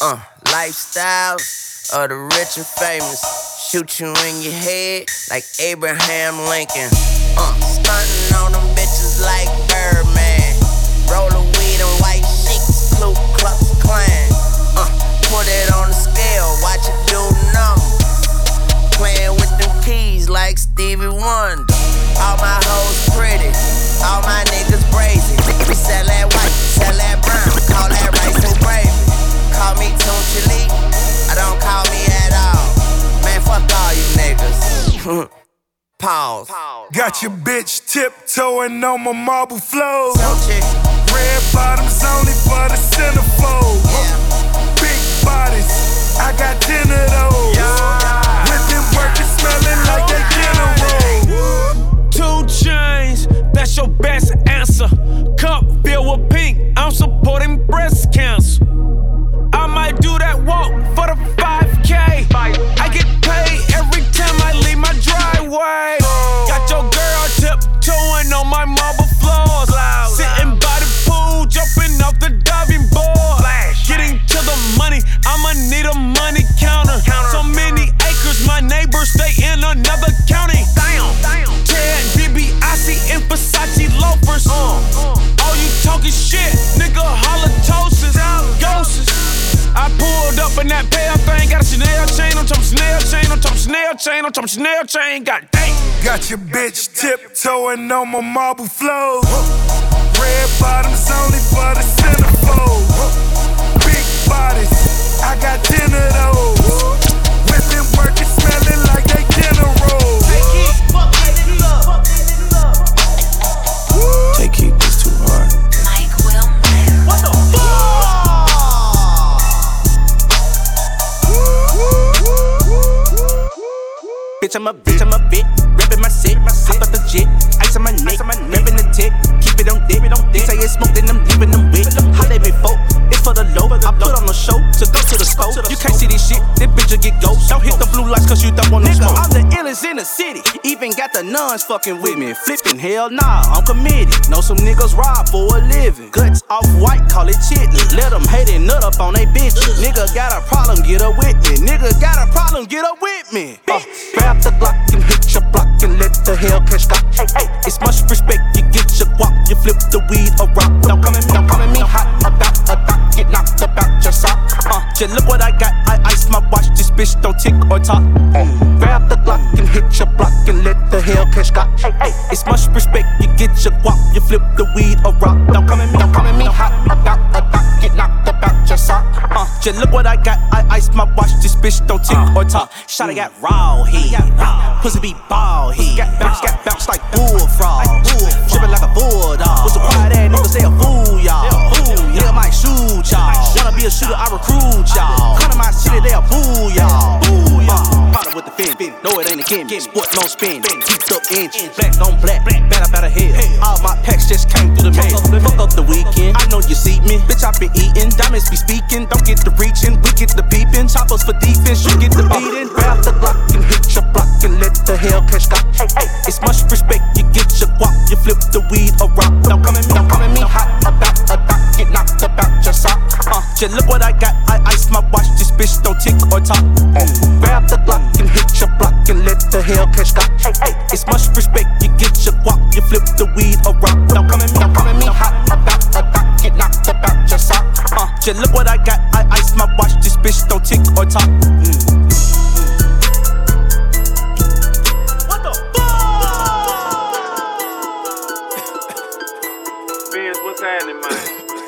Lifestyles of the rich and famous. Shoot you in your head like Abraham Lincoln. Stunting on them bitches like Birdman. Roll a weed and white sheets, Ku Klux Klan. Put it on the scale, watch it do numbers. Playing with them keys like Stevie Wonder. All my hoes pretty, all my niggas brazy. We sell that white, sell that brown, call that rice and gravy. Call me Tunchili, I don't call me at all. Man, fuck all you niggas. Pause. Got your bitch tiptoeing on my marble floor. Red bottoms only for the centerfold. Big bodies, I got 10 of those. Whipping, working, smelling like they general. 2 chains, that's your best answer. Cup filled with pink, I'm supporting breast cancer. I might do that walk for the 5K. I get paid every time I leave my driveway. Got your girl tiptoeing on my marble floors. Sitting by the pool, jumping off the diving board. Getting to the money, I'ma need a money counter. So many acres, my neighbors stay in another county. Ted DiBiase in Versace loafers. All you talking shit, nigga, halitosis, ghosts. I pulled up in that pale thing, got a Chanel chain on top of Chanel chain, on top of Chanel chain, on top of Chanel chain, god dang. Got your bitch tiptoeing on my marble floor. Red bottoms only for the centerfold. Big bodies, I got 10 of those. Whipping, working, smelling like they general. Take heat, this too hard. Mike Wilmer. What the fuck? Bitch, I'm a bit, reppin' my set, hop up the jet, ice on my neck, reppin' the tech, keep it on dick, they say it's smoke, then I'm leaving them wet, holla at me folk, it's for the low, I put on the show, to go to the scope, you can't see this shit, this bitch will get ghost, don't hit the blue lights cause you don't want no smoke. I'm the illest in the city, even got the nuns fucking with me, flipping, hell nah, I'm committed, know some niggas rob for a living, guts off white, call it chitlin', let them hate it, nut up on they bitches, nigga got a problem, get up with me, nigga got a problem, get up with me, grab the Glock and hit your block and let the Hellcat stop. It's much respect, you get your guap, you flip the weed or rock. Don't come at me hot about a doc, get knocked about your sock. Just look what I got, I ice my watch, this bitch don't tick or talk. Grab the Glock and hit your block and let the Hellcat stop. It's much respect, you get your guap, you flip the weed or rock. Don't come at me hot about a doc, get knocked about your sock. Just look what I got, I ice my watch, this bitch don't tick or talk. Shawty got raw head. Pussy be bald head. Got bounce like bullfrog. Drippin' like a bulldog. What's a quiet ass nigga say a fool, y'all. Nigga might shoot y'all. Wanna be a shooter, I recruit y'all. Come to my city, they'll boo y'all. Partner with the fin. No, it ain't a gimmick. Sport, no spin. Keep up inch. Black on black. Bad about a head. All my packs just came through the mail. Fuck up the weekend. I know you see me. Bitch, I been eating. Diamonds be speaking. Don't get the reaching. We get the peeping. Choppers for defense. You get the beating. Grab the Glock and hit your block and let the Hellcat stop. It's much respect, you get your guap, you flip the weed or rock. Don't come at me hot about a doc, get knocked about your sock. Just look what I got, I ice my watch, this bitch don't tick or talk. Grab the Glock and hit your block and let the Hellcat stop. It's much respect, you get your guap, you flip the weed or rock. Don't come at me Shit, look what I got. I ice my watch. This bitch don't tick or talk. What the fuck? Vince, what's happening, man?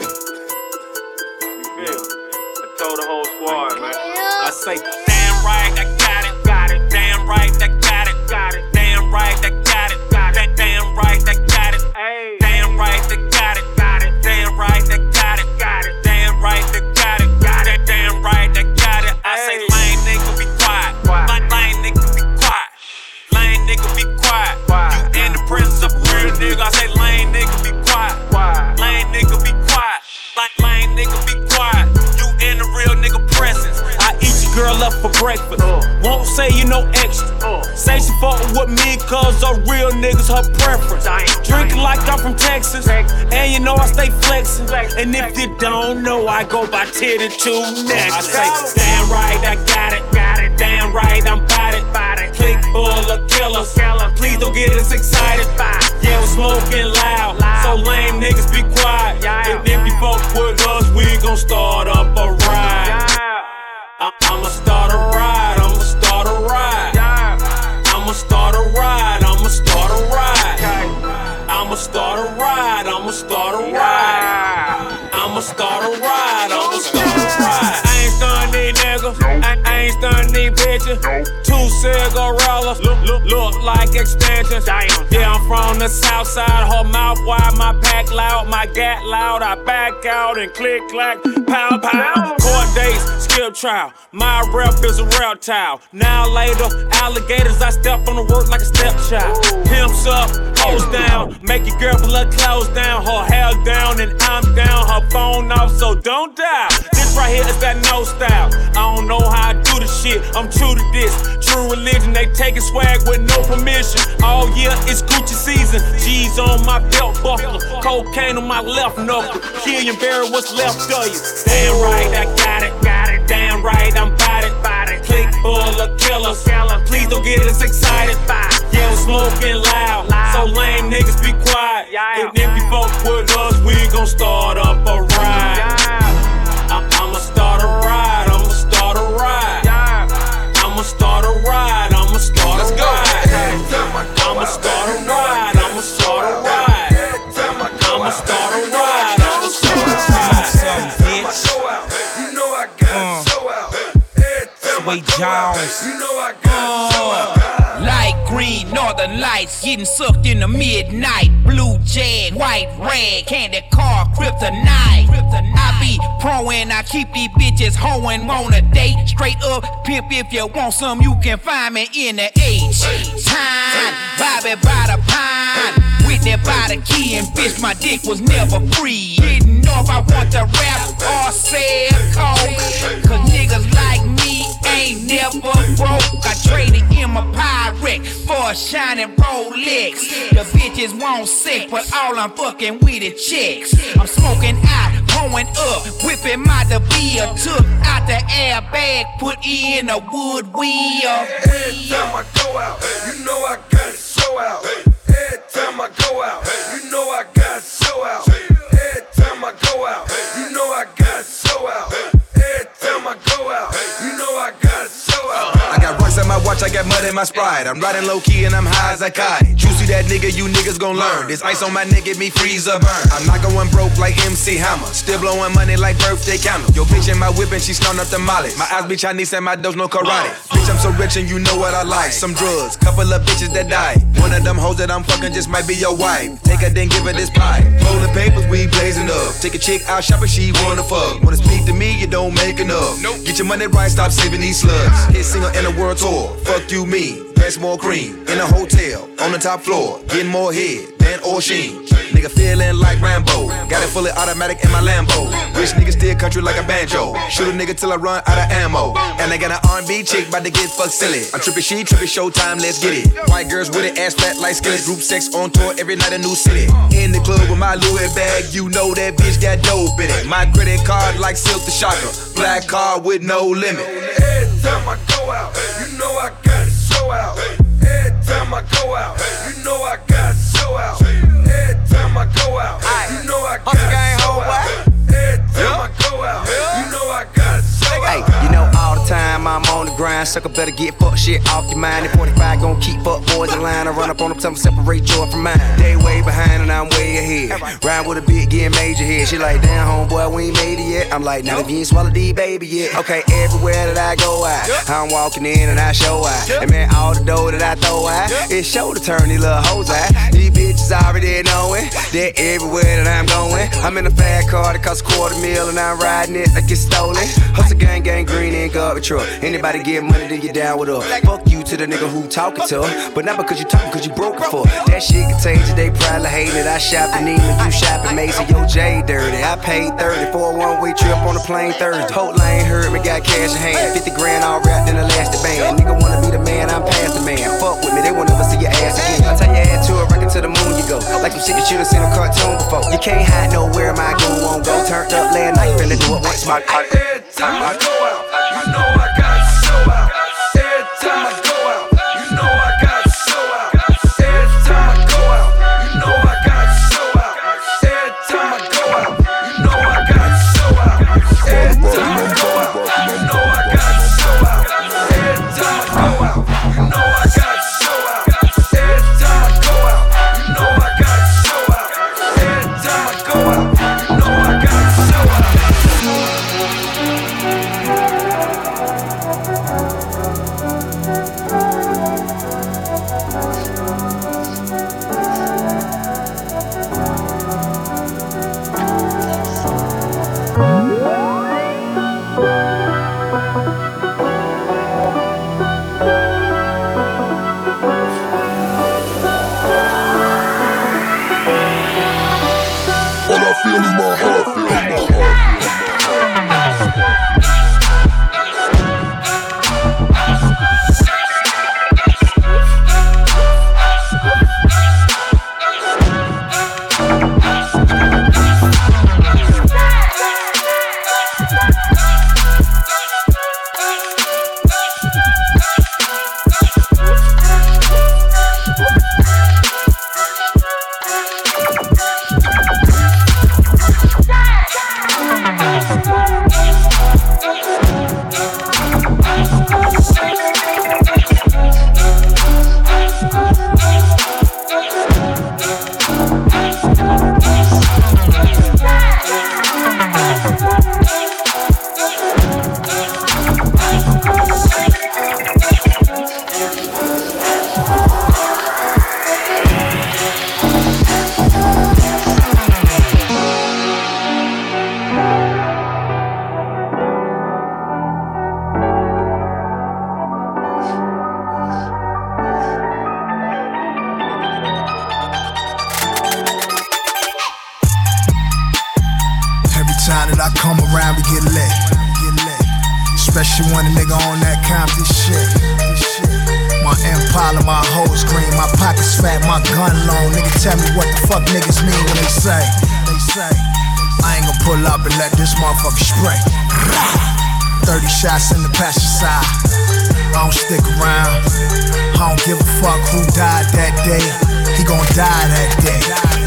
You feel? I told the whole squad, man. I say, damn right, I got it, got it. Damn right, I got it, got it. Damn right, I got it, got it. Damn right, I got it. Hey. Damn right, I got it, got it. Damn right, I got it, got it. Damn right, I got it, got it. Damn right, I got it. I say, lame nigga, be quiet. Lame nigga, be quiet. Lame nigga, be quiet. You in the presence of a real nigga. I say, lame nigga, be quiet. Lame nigga, be quiet. Lame nigga, be quiet. You in the real nigga presence. I eat your girl up for breakfast. Won't say you no extra. Say she fuckin' with me cause her real niggas her preference. Drinkin' like I'm from Texas. And you know I stay flexin'. And if you don't know, I go by 10 and 2 next. I say, damn right, I got it, got it. Damn right, I'm bout it. Click full of killers. Please don't get us excited. Yeah, we're smoking loud. So lame niggas be quiet. And if you fuck with us, we gon' start up a ride. I'ma start a ride. I'ma start a ride. I'ma start a ride. I'ma start a ride. I'ma start a ride. I'ma start a ride. I'ma start a ride. I'ma start a ride. I ain't stunning these niggas. I ain't stunning these bitches. 2 cigarillas look like extensions. Yeah, I'm from the south side. Her mouth wide, my pack loud, my gat loud. I back out and click clack, pow pow. Court dates, skip trial. My rep is a reptile. Now later, alligators. I step on the work like a stepchild. Pimps up, hoes down. Make your girl pull her clothes down, her hair down, and I'm down. Her phone off, so don't dial. This right here is that no style. I don't know how I do the shit. I'm true to this. True religion, they taking swag with no permission. All year it's Gucci season. G's on my belt buckle, cocaine on my left knuckle. Kill and bury what's left of you. Damn right, I got it, got it. Damn right, I'm bout it. Click full of killers. Please don't get us excited. Yeah, we're smoking loud. So lame niggas be quiet. And if you fuck with us, we gon' start up a ride. I'ma start a ride. I'ma start a ride. I'ma start a ride. I'ma start a ride. I'ma start a ride. I'ma start a ride. I'ma start a ride. I'ma start a ride. You know I got so out. Sway Jones. You know I got so out. Light green, northern lights, getting sucked in the midnight. Blue jag, white rag, candy car, kryptonite. I be proing, I keep these bitches hoeing, want a date. Straight up, pimp, if you want some, you can find me in the H. Time, Bobby by the pine. Whitney by the key, and bitch, my dick was never free. Didn't know if I want to rap or sell coke. Cause niggas like me ain't never broke. I traded in my Pyrex for a shining Rolex. The bitches want sex, but all I'm fucking with is chicks. I'm smoking out, pouring up, whipping my DeVille. Took out the airbag, put in a wood wheel. Every time I go out, you know I got it so out. Every time I go out, you know I got it so out. Every time I go out, you know I got it so out. Every time I go out, you know I got it so out. I got rocks at my watch, I got mud in my Sprite. I'm riding low key and I'm high as a kite. You see that nigga, you niggas gon' learn. This ice on my neck, get me freeze or burn. I'm not going broke like MC Hammer. Still blowing money like birthday candle. Yo, bitch in my whip and she snorting up the molly. My eyes be Chinese and my does no karate. Bitch, I'm so rich and you know what I like. Some drugs, couple of bitches that die. One of them hoes that I'm fucking just might be your wife. Take her, then give her this pie. Rolling papers, we blazing up. Take a chick out shopping, she wanna fuck. Wanna speak to me, you don't make enough. Get your money right, stop saving these slugs. Hit single in a world tour. Fuck you, me. Pass more cream. In a hotel, on the top floor. Getting more head than O'Sheen. Nigga feeling like Rambo. Got it fully automatic in my Lambo. Rich nigga steer country like a banjo. Shoot a nigga till I run out of ammo. And I got an R&B chick about to get fucked silly. I'm trippin', she trippin', showtime, let's get it. White girls with it, ass flat like skillets. Group sex on tour every night, a new city. In the club with my Louis bag, you know that bitch got dope in it. My credit card like Silk the Shocker. Black card with no limit. Every time I go out, you know I got it so out. Every time I go out, you know I got it so out. Every time I go out, you know I got it so out. Every time I go out, line. Sucker better get fuck shit off your mind. And 45 gon' keep fuck boys in line. I run up on them, tell them separate joy from mine. They way behind and I'm way ahead. Rhyme with a bit, getting major head. She like, damn, homeboy, we ain't made it yet. I'm like, not if you ain't swallowed D, baby, yet. Okay, everywhere that I go out, I'm walking in and I show out. And man, all the dough that I throw out, it's show to turn these little hoes out. These bitches already knowing that everywhere that I'm going, I'm in a fat car that costs $250,000 and I'm riding it like it's stolen. Hustle gang, green and garbage truck. Anybody get money, then you down with her. Fuck you to the nigga who talking to her, but not because you talking, cause you broke it for. That shit contagious, they probably hate it. I shop in Neiman, you shopping Mason, yo J dirty. I paid 30 for a one-way trip on a plane Thursday. Hope Lane heard me, got cash in hand. 50 grand all wrapped in elastic band. Nigga wanna be the man, I'm past the man. Fuck with me, they won't never see your ass again. I tie your ass to a record to the moon you go. Like some shit that you done seen a cartoon before. You can't hide nowhere my goon won't go. Turned up last night, finna do it once my every time I go out, you know I got to show out. Every time I go out, you know I got to show out. Every time I go out, you know I got to show out. Every time I go out, you know I got to show out. Every time I go out, you know I got to show out. Every time I go out, you know I got to show out. Every time I go out, you know I got to show out. Every time I go out, you know I got to show out. Feel in my heart, feel in my heart. Especially when a nigga on that Compton shit. My Impala, my hoes green, my pockets fat, my gun long. Nigga tell me what the fuck niggas mean when they say I ain't gon' pull up and let this motherfucker spray. 30 shots in the passenger side. I don't stick around. I don't give a fuck who died that day. He gon' die that day.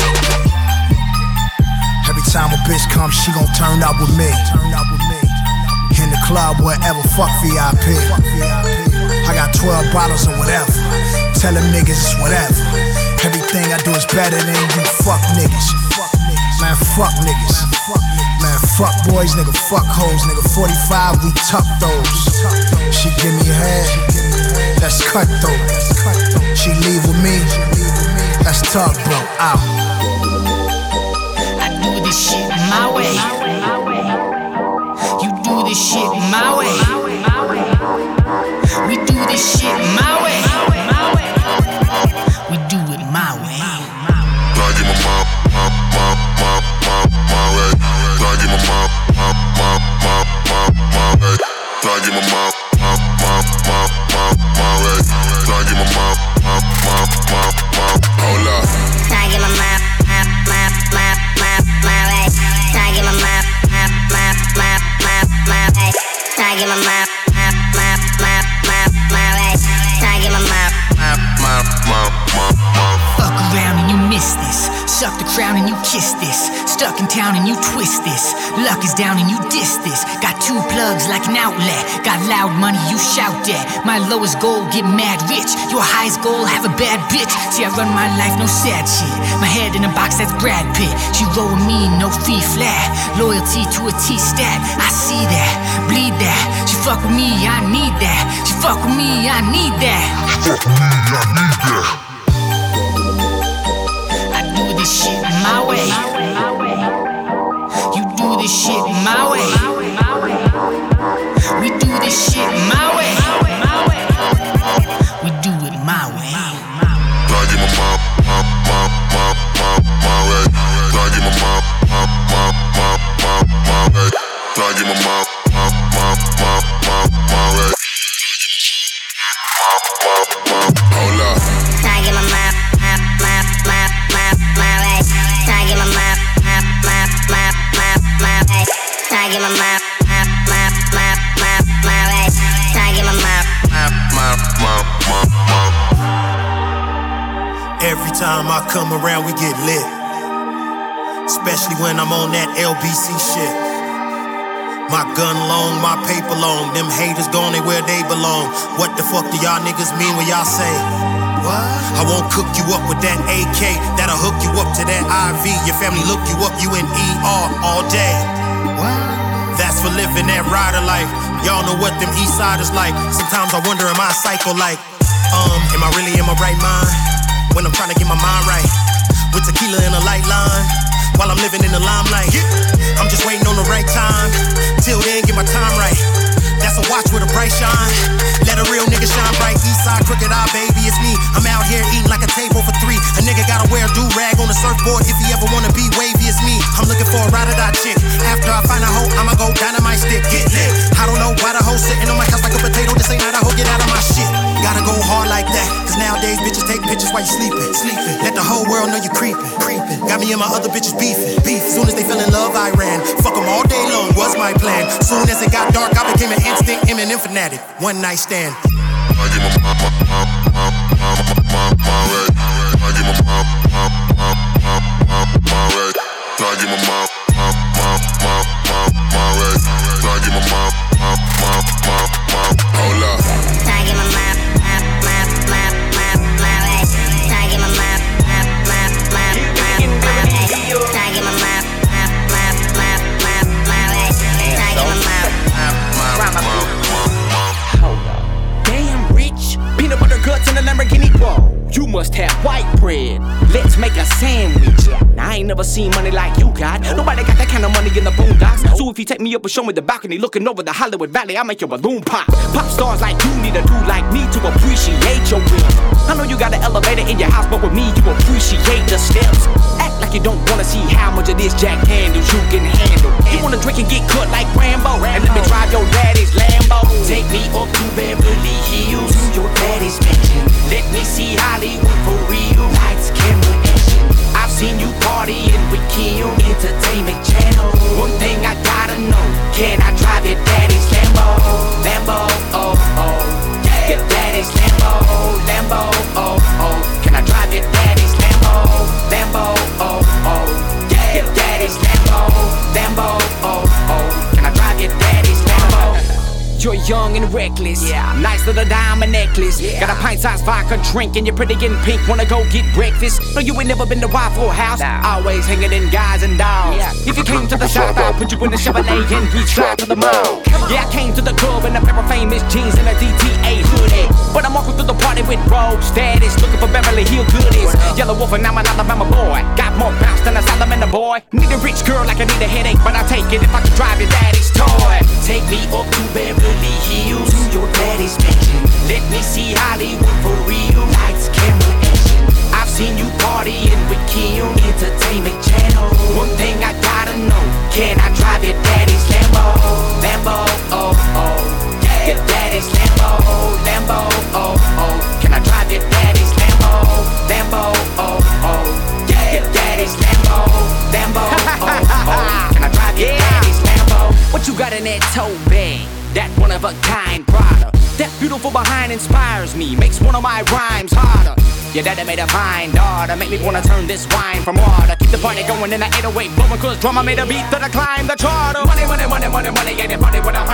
Every time a bitch comes, she gon' turn up with me. In the club, wherever, fuck VIP. I got 12 bottles or whatever. Tell them niggas it's whatever. Everything I do is better than you fuck niggas. Man, fuck niggas. Man, fuck boys, nigga, fuck hoes. Nigga, 45, we tuck those. She give me a head, that's cutthroat. She leave with me, that's tugboat. Out. I do this shit my way. You do this shit my way. We do this shit my way. We do it my way. Gotta get my way. Gotta get my way. Gotta get my way. Gotta get my hold up. Gotta get my way. Gotta get my way. Gotta get my way. Fuck around and you miss this. Suck the crown and you kiss this. Stuck in town and you twist this. Luck is down and you diss this. Got 2 two plugs like an outlet. Got loud money, you shout that. My lowest goal, get mad rich. Your highest goal, have a bad bitch. See, I run my life, no sad shit. My head in a box, that's Brad Pitt. She roll with me, no fee flat. Loyalty to a T-stat, I see that, bleed that. She fuck with me, I need that. She fuck with me, I need that. Fuck with me, I need that. I do this shit my way. You do this shit my way. We do this shit my way. We do it my way. Gotta get my way. Gotta get my way. Gotta get my way. Hold up. Gotta get my way. Gotta get my way. Gotta get my Every time I come around, we get lit. Especially when I'm on that LBC shit. My gun long, my paper long. Them haters gone, they where they belong. What the fuck do y'all niggas mean when y'all say? What? I won't cook you up with that AK. That'll hook you up to that IV. Your family look you up, you in ER all day. What? That's for living that rider life. Y'all know what them east siders like. Sometimes I wonder, am I a psycho like? Am I really in my right mind? When I'm trying to get my mind right. With tequila in a light line. While I'm living in the limelight. I'm just waiting on the right time. Till then, get my time right. That's a watch with a bright shine. Let a real nigga shine bright. Eastside, crooked eye, baby, it's me. I'm out here eating like a table for three. A nigga gotta wear a do-rag on the surfboard if he ever wanna be wavy as me. I'm looking for a ride-or-die chick. After I find a hoe, I'ma go dynamite stick. Get lit. I don't know why the hoe sitting on my couch like a potato. This ain't not a hoe, get out of my shit. Gotta go hard like that. Cause nowadays bitches take pictures while you sleeping. Let the whole world know you creeping. Got me and my other bitches beefing. Soon as they fell in love, I ran. Fuck them all day long, was my plan. Soon as it got dark, I became an instinct Eminem fanatic. One night stand. I get my way. I get my way. I get my way. Hold up. I get my way. Damn rich, peanut butter guts in a Lamborghini. Whoa, you must have white bread. Let's make a sandwich. Now, I ain't never seen money like you got. Nobody got that kind of money in the boondocks. So if you take me up and show me the balcony looking over the Hollywood Valley, I'll make your balloon pop. Pop stars like you need a dude like me to appreciate your win. I know you got an elevator in your house, but with me you appreciate the steps. Act like you don't wanna see how much of this Jack Daniels you can handle. You wanna drink and get cut like Rambo, and let me drive your daddy's Lambo. Take me up to Beverly Hills, your daddy's mansion. Let me see Hollywood for real. Lights, camera, action. I've seen you partying with Kim, Entertainment Channel. One thing I gotta know, can I drive your daddy's Lambo? Lambo, oh, oh. Your daddy's Lambo, Lambo, oh, oh. Can I drive your daddy's Lambo? Lambo, oh, oh. Your daddy's Lambo, Lambo, oh, oh. Can I drive your daddy's Lambo? You're young and reckless, yeah. Nice little diamond necklace, yeah. Got a pint-sized vodka drink and you're pretty and pink. Wanna go get breakfast? No, you ain't never been to Waffle House. Nah. Always hanging in guys and dolls. Yeah. If you came to the shop, I'll put you in the Chevrolet and we drive to the mall. Yeah, I came to the club in a pair of famous jeans and a DTA hoodie. But I'm walking through the party with rogue status, looking for Beverly Hills goodies. Yellow Wolf and I'm an Alabama boy. Got more bounce than a Salamander boy. Need a rich girl like I need a headache, but I'll take it if I can drive your daddy's toy. Take me up to Beverly Hills, your daddy's mansion. Let me see Hollywood for real. Lights, camera, action. I've seen you partying with Kim, Entertainment Channel. One thing I gotta know, can I drive your daddy's Lambo? Lambo, oh, oh. Your daddy's Lambo, Lambo, oh, oh. Can I drive your daddy's Lambo? Lambo, oh, oh. Your daddy's Lambo, Lambo, oh, oh. Can I drive your daddy's Lambo? What you got in that tote bag? That one-of-a-kind product. That beautiful behind inspires me, makes one of my rhymes harder. Your daddy made a fine daughter, make me wanna turn this wine from water. Keep the party going in the 808 blowing, cause drummer made a beat to climb the charter. Money, money, money, money, money, yeah, the party with $100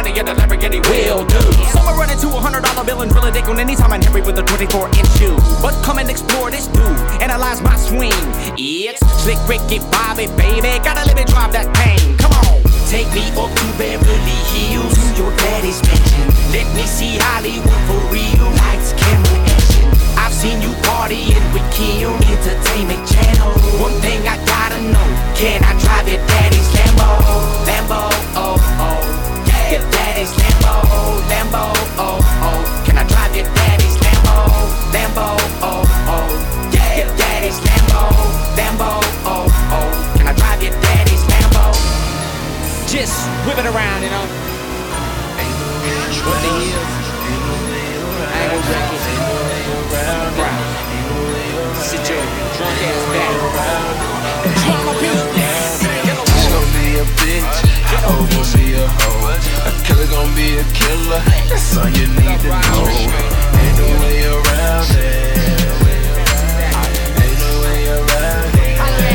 will do. So I run into $100 bill and drill a dick on any time I nip with a 24-inch shoe. But come and explore this dude, analyze my swing. It's Slick Ricky Bobby, baby. Gotta live and drive that pain. Come on. Take me up to Beverly Hills, to your daddy's mansion. Let me see Hollywood for real. Lights, camera, action. I've seen you partying with Kim, Entertainment Channel. One thing I gotta know, can I drive your daddy's Lambo? Lambo, oh, oh. Yeah. Your daddy's Lambo, Lambo, oh, oh. Can I drive your daddy's Lambo? Lambo, oh, oh. Yeah. Your daddy's Lambo, Lambo, oh, oh. Can I drive your daddy's Lambo? Just whip it around, you know. What the hell? I ain't gonna wreck it. Right. Sit your drunk ass back. Drunk on me. She's gon' be a bitch. A hoe gon' be a hoe. A killer gon' be a killer. That's all you need to know. Ain't no way around it. Ain't no way around it.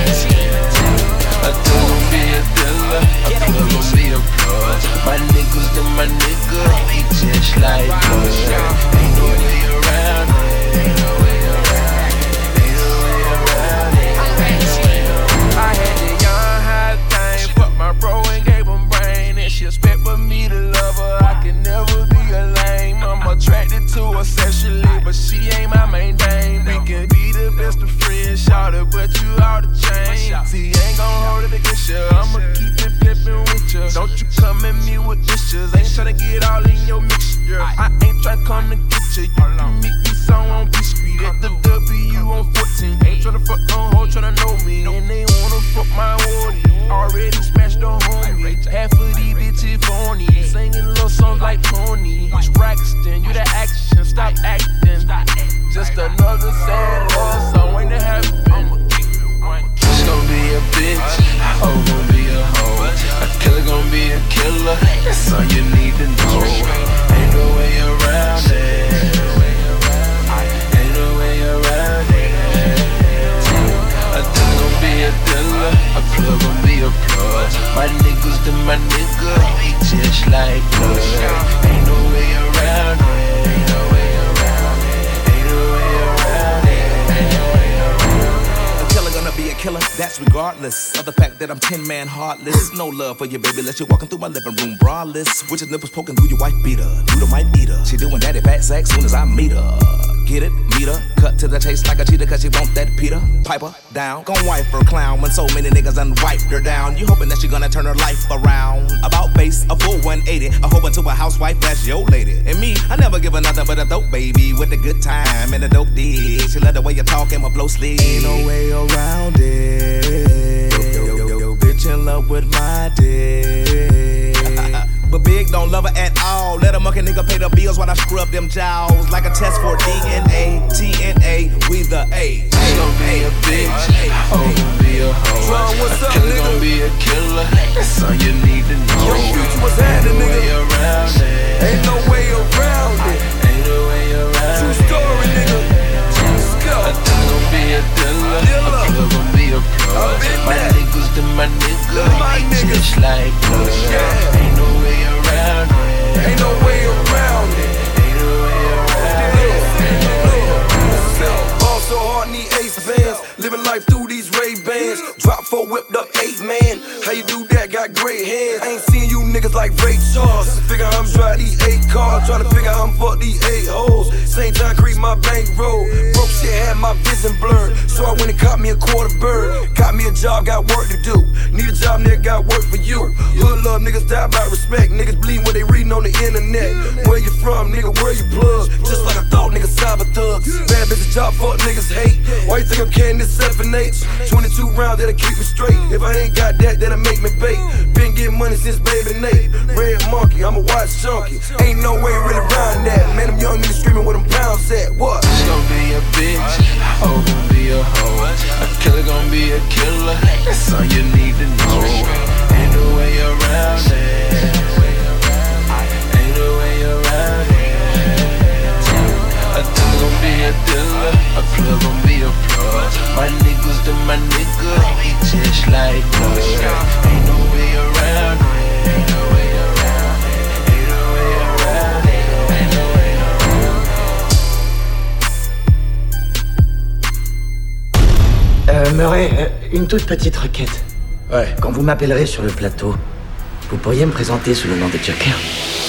A dealer gon' be a dealer. A plug gon' be a plug. My niggas to my nigga. We just like us. Ain't no way around it. Ain't no way around it. Ain't no way around it. I had the young high thing, fuck my bro and gave him brain. And she expect for me to love her, I can never be a lame. I'm attracted to her sexually, but she ain't my main dame. We can be the best of friends, shout it, but you out the chain. See, ain't gon' hold it against you, I'ma keep it pimpin' with you. Don't you come at me with issues, ain't tryna get all in your mixture. I ain't tryna come to get you, you can meet me some on P Street at the W on 14. Ain't tryna fuck no hoe, tryna know me, and they wanna fuck my wardy. Already smashed the homie, half of these bitches phony. Singing little songs like Tony. Braxton, you the action, stop acting. Just another sad love song waiting to happen. She's gon' be a bitch. A hoe gon' be a hoe. A killer gon' be a killer. That's all you need to know. Ain't no way around it. Ain't no way around it. A dealer gon' be a dealer. A plug gon' be a plug. My niggas to my nigga. We just like blood. Ain't no way around it. Ain't no way around it. Ain't no way around it. Ain't no way around it. A killer gonna be a killer, that's regardless of the fact that I'm 10-man heartless. No love for you, baby, let you walking through my living room braless. With your nipples poking through your wife beater, through the might eater. She doing daddy fat sack soon as I meet her. Get it, meet her, cut to the taste like a cheetah, cause she want that Peter. Pipe her down, gon' wipe her clown when so many niggas done wiped her down. You hoping that she gonna turn her life around. About face, a full 180, a hoe into a housewife, that's your lady. And me, I never give her nothing but a dope baby with a good time and a dope dick. She love the way you talk and my blow sleep. Ain't no way around it. Yo, bitch in love with my dick. But Big don't love her at all. Let a monkey nigga pay the bills while I scrub them jowls. Like a test for DNA, TNA, we the A. She gon' be a bitch, a hoe gon' be a hoe. A killer gon' be a killer, that's all you need to know. Yo, future, what's happening, nigga? Ain't no way around it. Ain't no way around it. Ain't no way around True it. story, nigga. Let's go. A dealer gon' be a dealer, a plug gon' be a plug. My niggas to my nigga, we just like blood. Ain't no way around it. Ain't no way around it. Ain't no way around it. Ball so hard, need ace bands. Living life through these Ray-Bans. Drop 4, whipped up 8, man. How you do that? Got great hands. I ain't seen you niggas like Ray Charles. Figure I'm drive these 8 cars. Tryna figure how I'm fuck these 8 hoes. Same time creep my bankroll. Broke shit had my vision blurred. So I went and caught me a quarter bird. Got me a job, got work to do. Need a job, nigga, got work for you. Hood love, niggas die by respect. Niggas bleed when they reading on the internet. Where you from, nigga, where you plug? Just like I thought, niggas cyber thugs. Bad bitch job, fuck niggas hate. Why you think I'm carrying this 7H? 22 rounds that'll keep me straight. If I ain't got that, that'll make me bait. Been getting money since baby Nate. Red monkey, I'm a watch junkie. Ain't no way really around that. Man, them young niggas screaming where them pounds at. What? She gon' be a bitch, a hoe gon' be a hoe. A killer gon' be a killer, that's all you need to know. Ain't no way around it. Ain't no way around it. A dealer gon' be a dealer, a plug gon' be a plug. My niggas to my nigga, we just like blood. Ain't no way around it. Ain't no way around it. Ain't no way around it. J'aimerais une toute petite requête. Ouais. Quand vous m'appellerez sur le plateau, vous pourriez me présenter sous le nom de Joker.